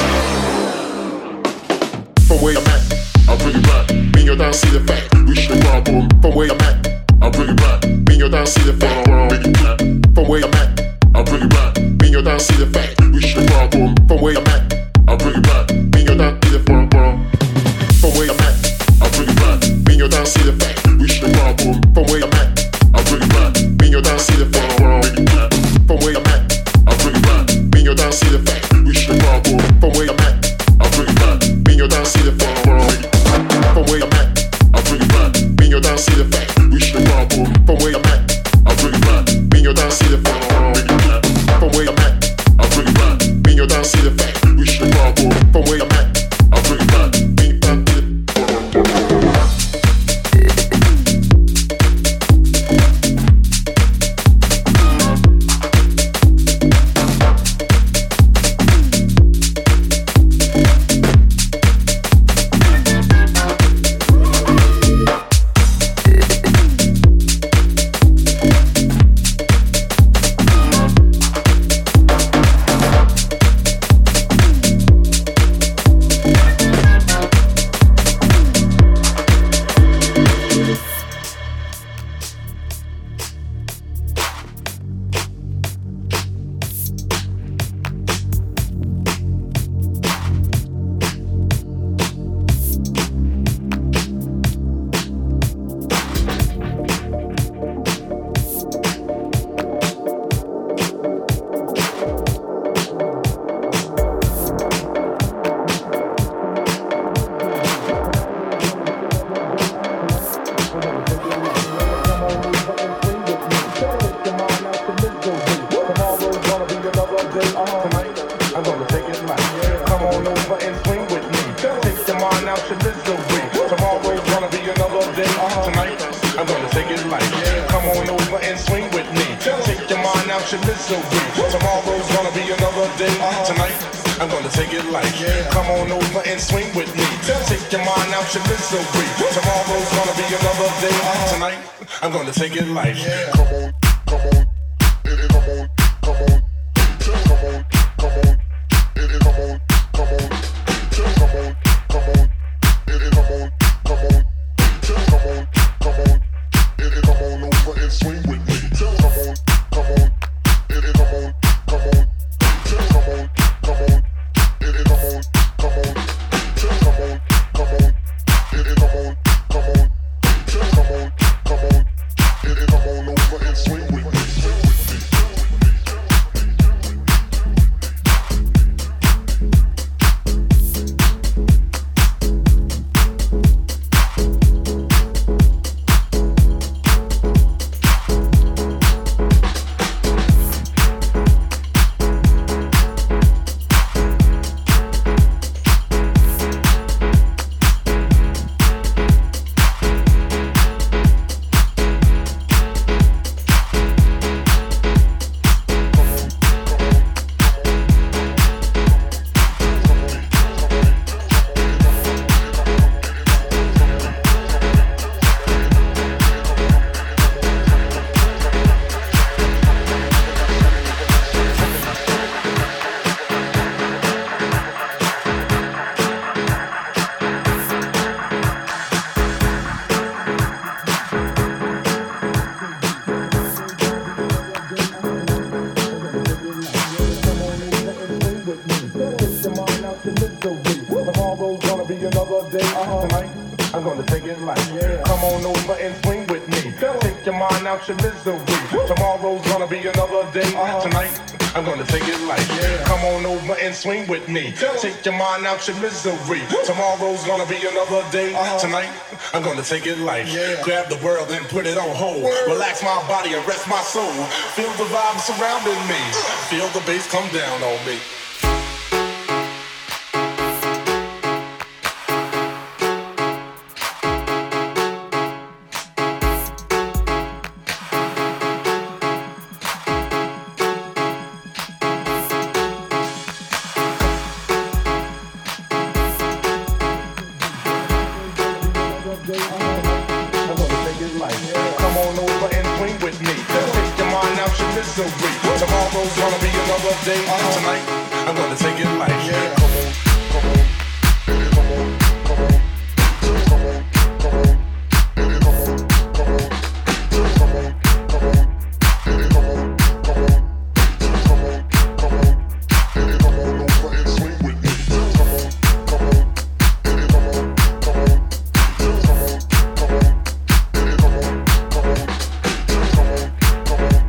From where I'm at. I'm really back. Me and your down see the fact. We should have gone from where I'm at. I'm really back. Me and your down see the fact. From where I'm at. I'm really back. Me and your down see the fact. We should have gone from where I'm at. I'm really back. Me and your down see the fact. From where I'm at. I'm really back. Me and your down see the fact. We should have gone from where I'm at. I'm really back. Me and your down see the fact. From where I'm at. I'm really back. Me and your down see the fact. We should have gone from where I'm at. I'm really back. Me and your down see the fact. From where I'm at. I'm really back. Me and your down see the fact. We should have gone from where I'm at. I'm really back. Me and your down see the fact. From where I'm at. I'm really back. Me and your down see the fact. We should have gone from where I'm at. I'm really back. Me and your down see the I'm gonna take it light. Come on, come on, it, it, come on, come on, come on, come on, it, it, come on, come on, come on, come on, it, it, come on, come on, come on, come on, it, it, come on over and swing with me. Come on, come on, it, it, come on, come on, come on, come on, it, it, come on, come on, come on, come on, it, it, come on, come on, come on, come on. Come on over and swing with me. I'm gonna take it light. Yeah. Come on over and swing with me. Take your mind out your misery. Tomorrow's gonna be another day. Uh-huh. Tonight, I'm gonna take it light. Yeah. Come on over and swing with me. Take your mind out your misery. Tomorrow's gonna be another day. Uh-huh. Tonight, I'm gonna take it light. Yeah. Grab the world and put it on hold. Relax my body and rest my soul. Feel the vibe surrounding me. Feel the bass come down on me. so great. Tomorrow's gonna be another day. Tonight, I'm gonna take it light. Yeah. Come on, come on, come on, come on, come on, come on, come on, come on, come on, come on, come on, come on, come on, come on, come on over and swing with me. Come on, come on, come on, come on, come on, come on, come on, come on, come on, come on.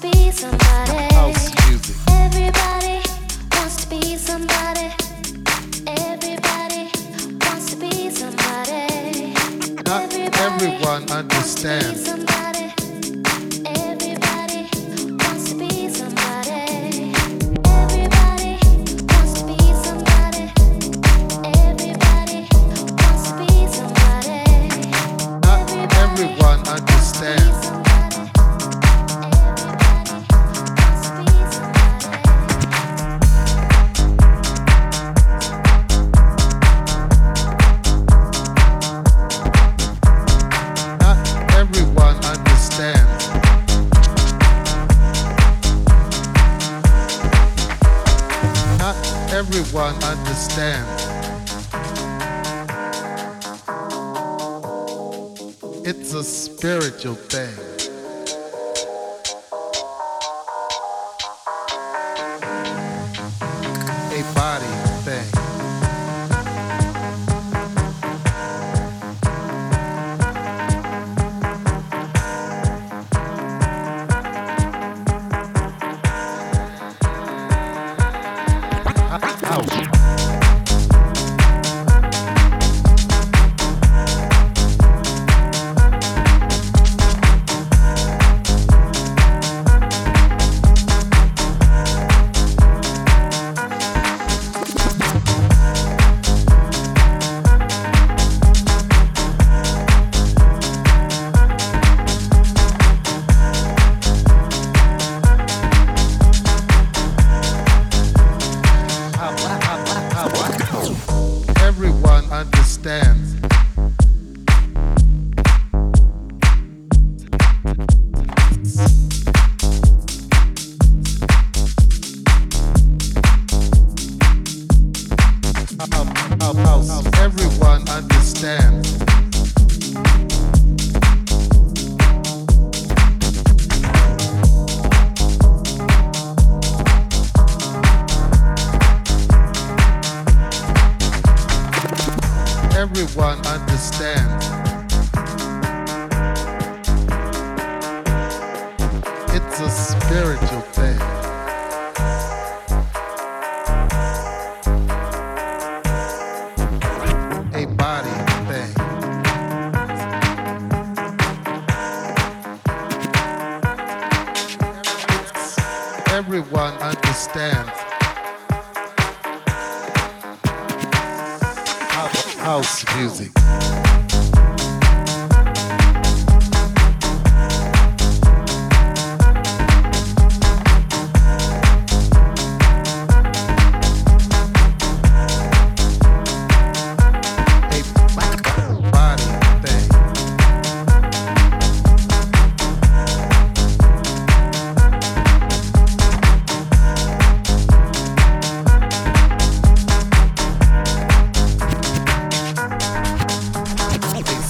be somebody. House music. Everybody wants to be somebody. Everybody wants to be somebody. Not everyone understands. Somebody. Everybody wants to be somebody. Everybody wants to be somebody. Everybody wants to be somebody. Not everyone understands. Everyone understands. Not everyone understands. It's a spiritual thing. A body thing. Everyone understands. Everyone understands. Everyone understands. It's a spiritual thing. A body thing. Everyone understands. House music. A body thing. A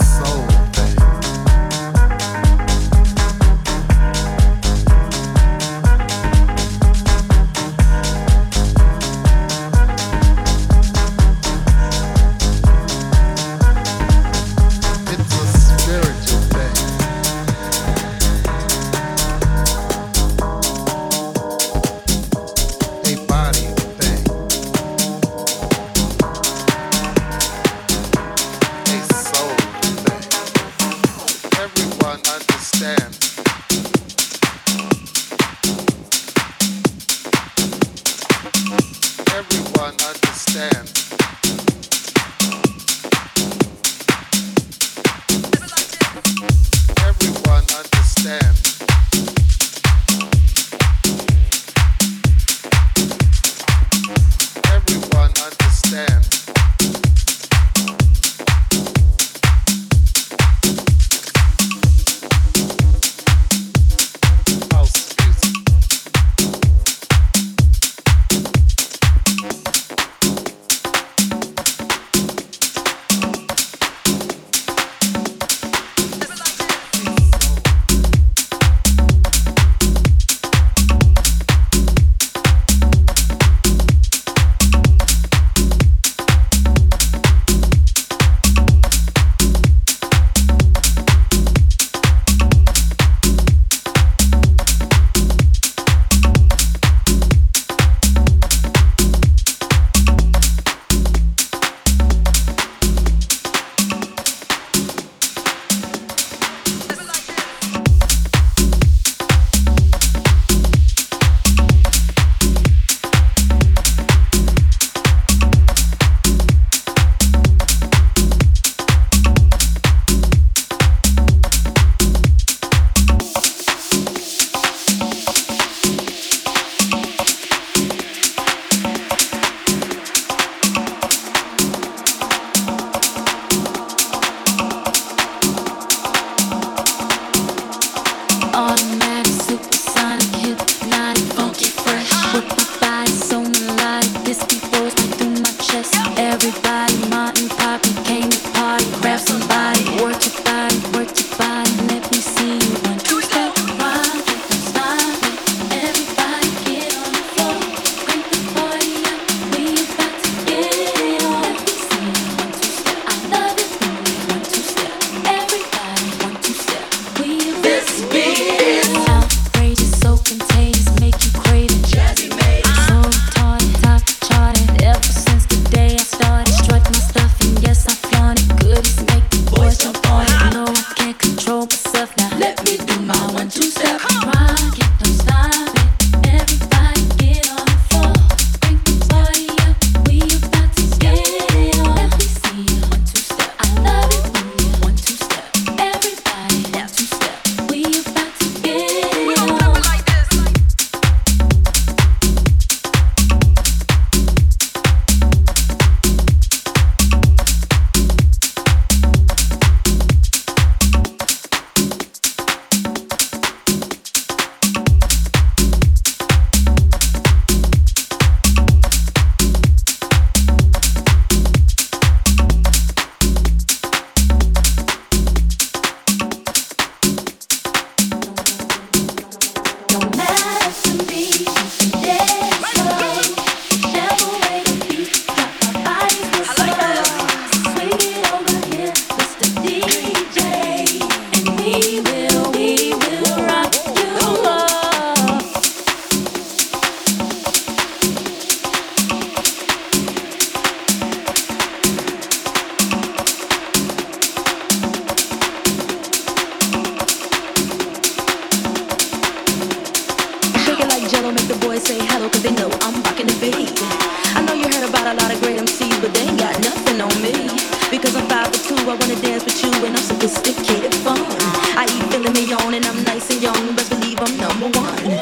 Cause I'm five foot two, I wanna dance with you, and I'm sophisticated fun. I eat filet mignon, and I'm nice and young, best believe I'm number one.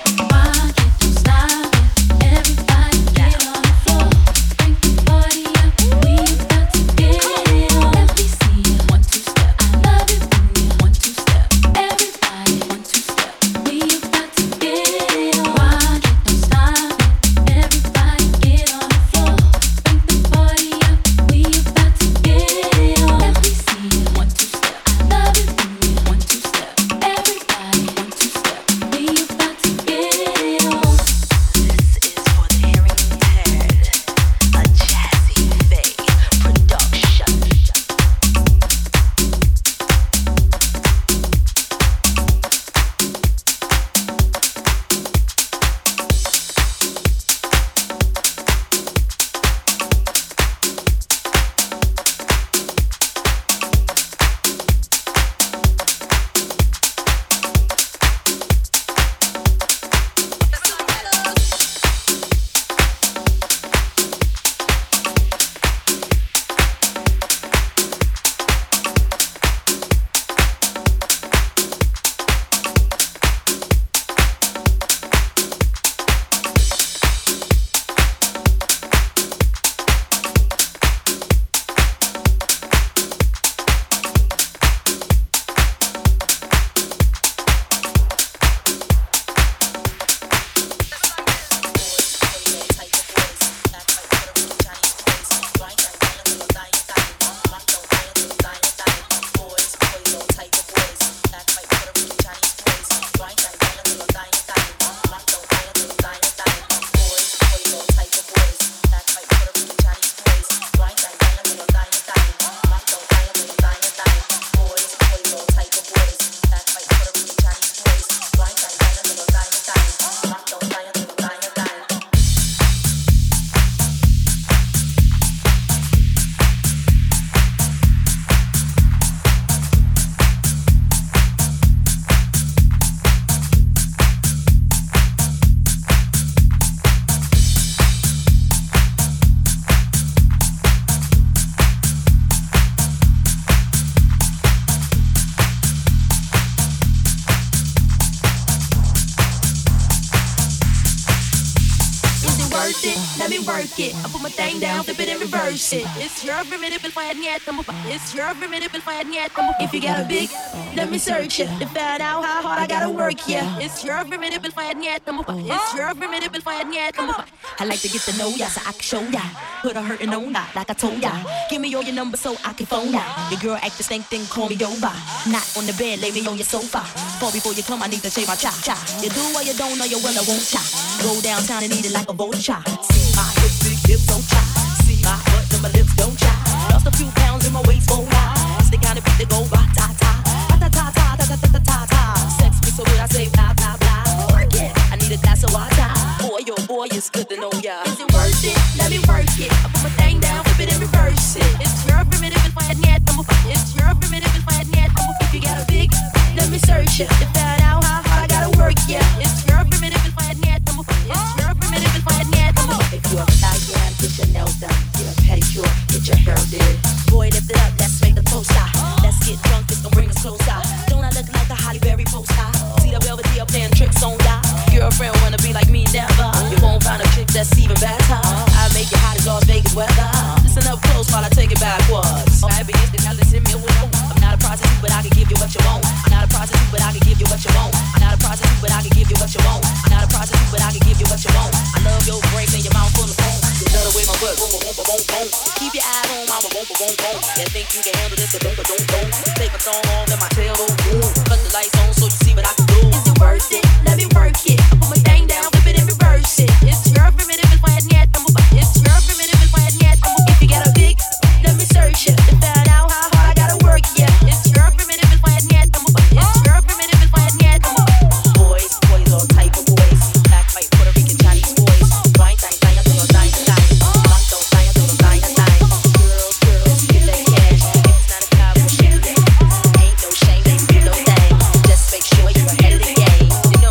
It's your primitive fine yet. It's your primitive fine yet. If you got a big, let me search it to find out how hard I gotta work. Yeah, it's your primitive fine yet. It's your primitive fine yet. I like to get to know ya so I can show ya. Put a hurtin' on ya like I told ya. Give me all your numbers so I can phone ya. Your girl act the same thing, call me over. Not on the bed, lay me on your sofa. Fall before you come, I need to shave my cha cha. You do what you don't know, you will, I won't cha. Go downtown and eat it like a vulture. See my hips, big hips, don't try. See my butt and my lips, don't try. Lost a few pounds in my waist, won't lie. It's the kind of beat that go ba ta ta, ba ta ta ta ta ta ta ta ta. Sex me so good I say blah blah blah. Work it, I need a glass of water. Boy, oh boy, it's good to know ya. Is it worth it? Let me work it. I put my thing down, flip it and reverse it. It's your primitive and fine yet. It's your primitive and fine yet. If you got a big, let me search it to find out how hard I gotta work. Yeah, it's your primitive and fine yet. It's your primitive and fine yet. If you're a Italian, get your nails done, get a pedicure, get your hair did. Boy, lift it up, let's make the toast out. Let's get drunk, this gon' bring us closer. Don't I look like a Holly Berry poster? See the Belvedere playing tricks on ya. Girlfriend wanna be like me, never. You won't find a chick that's even better. I make it hot as Las Vegas weather. Listen up close while I take it backwards. I be instant, now listen me with I'm not a prostitute, but I can give you what you want. I'm not a prostitute, but I can give you what you want. I'm not a prostitute, but I can give you what you want. I'm not a prostitute, but I can give you what you want. I love your brains and your mouth full of foam. You love the way my butt boom, boom, boom, boom, boom. Keep your eyes on mama, boom, boom, boom, boom. You think you can handle this, but don't, but don't, don't. Take my thumb off, let my tail go boom. Cut the lights on so you see what I can do. Is it worth it? Let me work it. I put my thing down, flip it and reverse it. It's your primitive and fine yet. It's your primitive and fine yet. If you got a big, let me search it to find out how hard I gotta work. Yeah, it's your primitive and fine yet. It's your primitive and fine yet. Boys, boys, all type of boys. Black, white, Puerto Rican, Chinese boys. Wine, dine, dine, I feel dine, dine. Black, don't dine, I feel dine, dine. Girls, girls, get that cash. It's not a cop, shit. Ain't no shame, ain't no thing. Just make sure you're ahead of the game. You know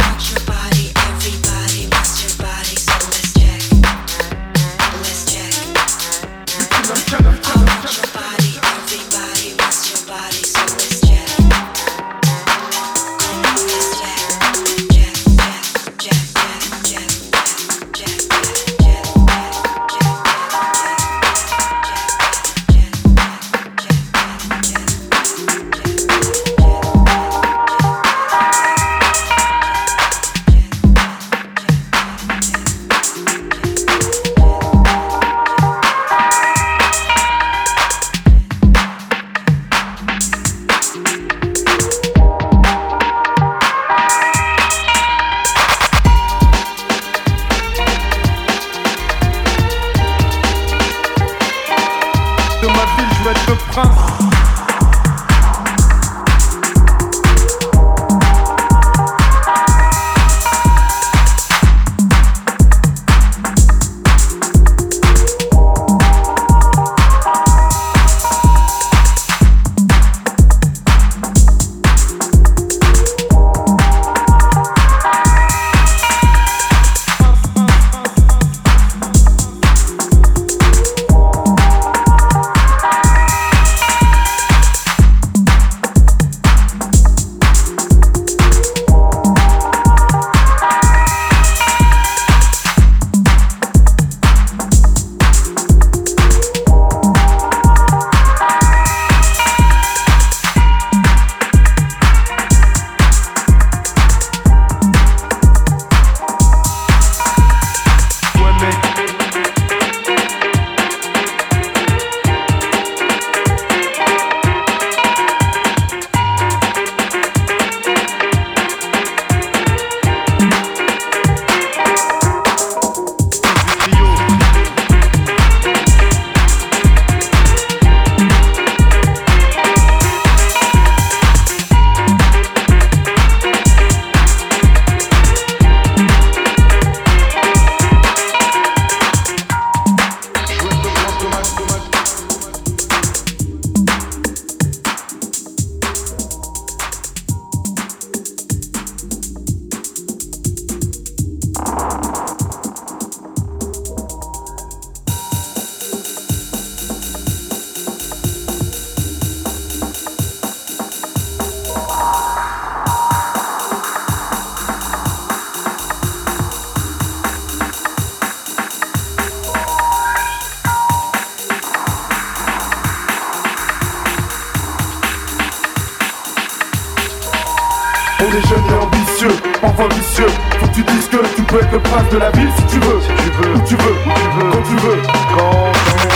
On est jeunes et ambitieux, enfants vicieux. Faut que tu dises que tu peux être le prince de la ville si tu veux. Si tu veux, où tu veux, où tu veux, quand tu veux. Quand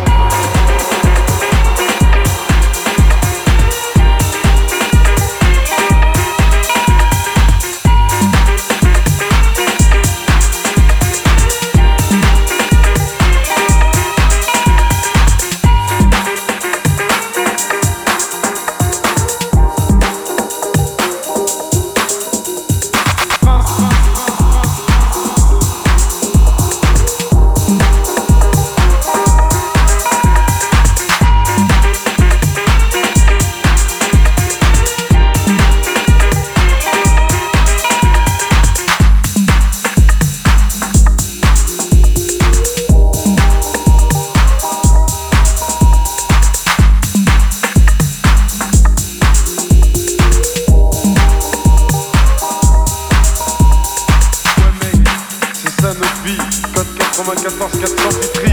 quatre-vingt-quatorze quatre cents Vitry.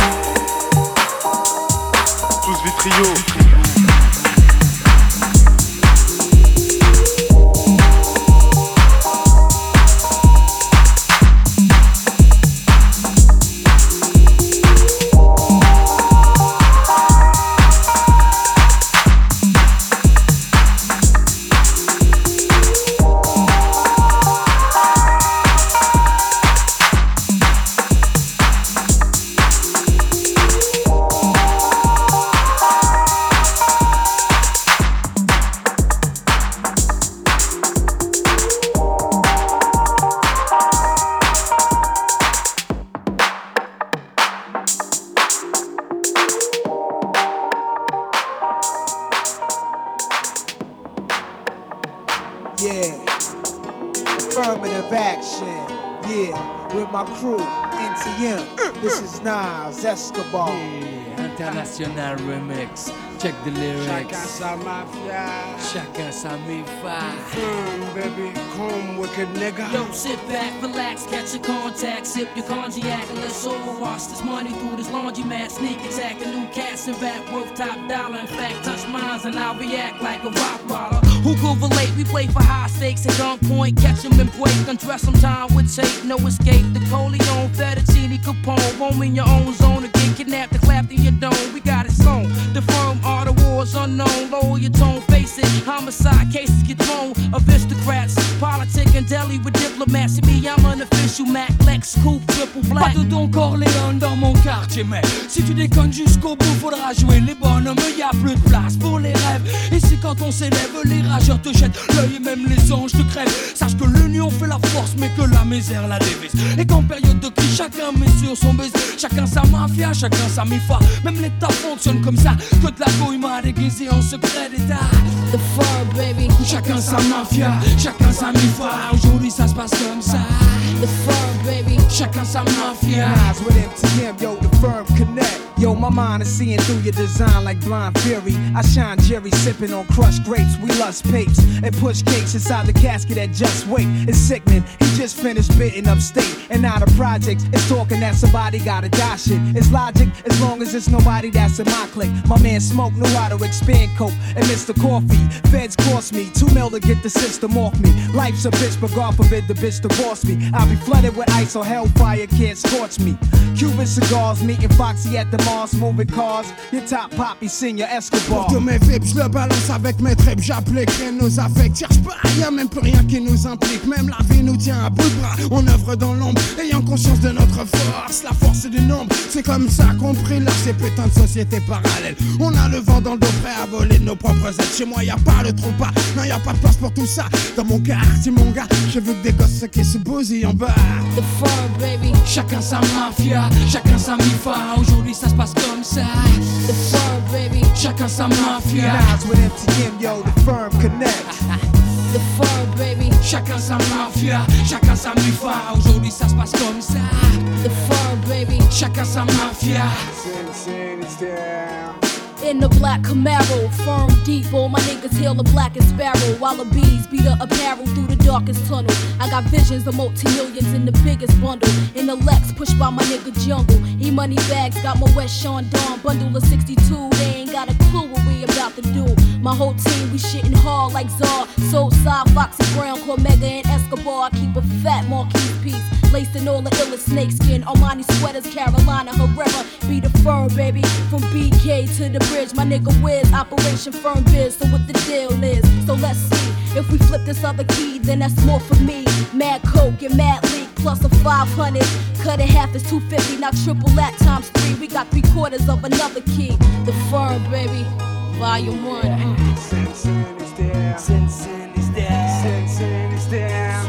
Tous Vitrio. Yeah, affirmative action. Yeah, with my crew, N T M. This is Nas Escobar. Yeah, international remix. Check the lyrics. Chacun sa mafia. Chacun sa mi-fa. Mm, baby, come wicked nigga. Yo, sit back, relax, catch your contact, sip your cognac, and let's overwash this money through this laundromat. Sneak attack, a new cast and rap worth top dollar. In fact, touch mines and I'll react like a rock baller. Who could relate? We play for high stakes at gunpoint, catch 'em and break, undress 'em time with tape, no escape. The Coleon, Fettuccine, Capone, roam in your own zone to get kidnapped and clapped in your dome. We got it sewn. The firm are the wars unknown. Lower your tone, face it. Homicide cases get thrown. Aristocrats, politic and deli with diplomats. See me, I'm an official Mac, Lex, Coupe, triple black. Pas de Don Corleone dans mon quartier, mais si tu déconnes jusqu'au bout, faudra jouer les bonhommes. Y a plus de place pour les rêves. Et c'est quand on s'élève, les rageurs te jettent l'œil et même les anges te crèvent. Sache que l'union fait la force, mais que la misère la dévise. Et qu'en période de crise, chacun met sur son baiser. Chacun sa mafia, chacun sa mi-fa. Même l'État fonctionne comme ça. Que de la gouille m'a déguisé en secret d'État. The fur, baby. Chacun sa mafia, chacun sa mi-fa. Aujourd'hui ça se passe comme ça. The fur, baby. Chacun sa mafia. Nas with M T M, yo, the firm connect. Yo, my mind is seeing through your design like blind fury. I shine Jerry sipping on crushed grapes. We lust papes and push cakes inside the casket at Just Wait. It's sickening. He just finished bidding upstate. And now the project is talking that somebody gotta die shit. It's logic as long as it's nobody that's in my clique. My man Smoke knew how to expand coke and Mister Coffee. Feds cost me two mil to get the system off me. Life's a bitch, but God forbid the bitch divorce me. I'll be flooded with ice or hellfire can't scorch me. Cuban cigars, meeting Foxy at the Mars, moving cars. Your top poppy, Senior Escobar. Pour tous mes vips, je le balance avec mes tripes. J'applique rien nos affects. Cherche pas rien, même plus rien qui nous implique. Même la vie nous tient à bout de bras. On œuvre dans l'ombre, ayant conscience de notre force. La force du nombre, c'est comme ça qu'on brille là, ces putains de sociétés parallèles. On a le vent dans le dos, prêt à voler de nos propres ailes. Chez moi, y a pas le trou pas. Non, y a pas de place pour tout ça. Dans mon quartier, mon gars, j'ai vu que des gosses qui se bousillent en bas. The fur, baby. Chacun sa mafia, chacun sa mi-fa. Aujourd'hui ça se passe comme ça. The fur, baby. Chacun sa mafia. Nas with M T M, yo, the firm connect. The fur, baby. Chacun sa mafia, chacun sa mi-fa. Aujourd'hui ça se passe comme ça. The fur, baby. Chacun sa mafia. In the black Camaro, firm depot, my niggas hail the black and sparrow. While the bees beat the apparel through the darkest tunnel. I got visions of multi-millions in the biggest bundle. In the Lex, pushed by my nigga Jungle. E-money bags, got my West Sean Dawn bundle of sixty-two. They ain't got a clue what we about to do. My whole team, we shitting hard like Czar. Soul side, Foxy Brown, Cormega and Escobar. I keep a fat Marquis piece. Laced in all the illest snakeskin. Armani sweaters, Carolina Herrera. Be the firm, baby. From B K to the bridge. My nigga Wiz, Operation Firm Biz. So what the deal is. So let's see. If we flip this other key, then that's more for me. Mad Coke and Mad Leak plus a five hundred. Cut it half is two fifty. Now triple that times three. We got three quarters of another key. The firm, baby. Volume one. Uh. Sin Sin is there. Sin Sin is there. Sin Sin is there.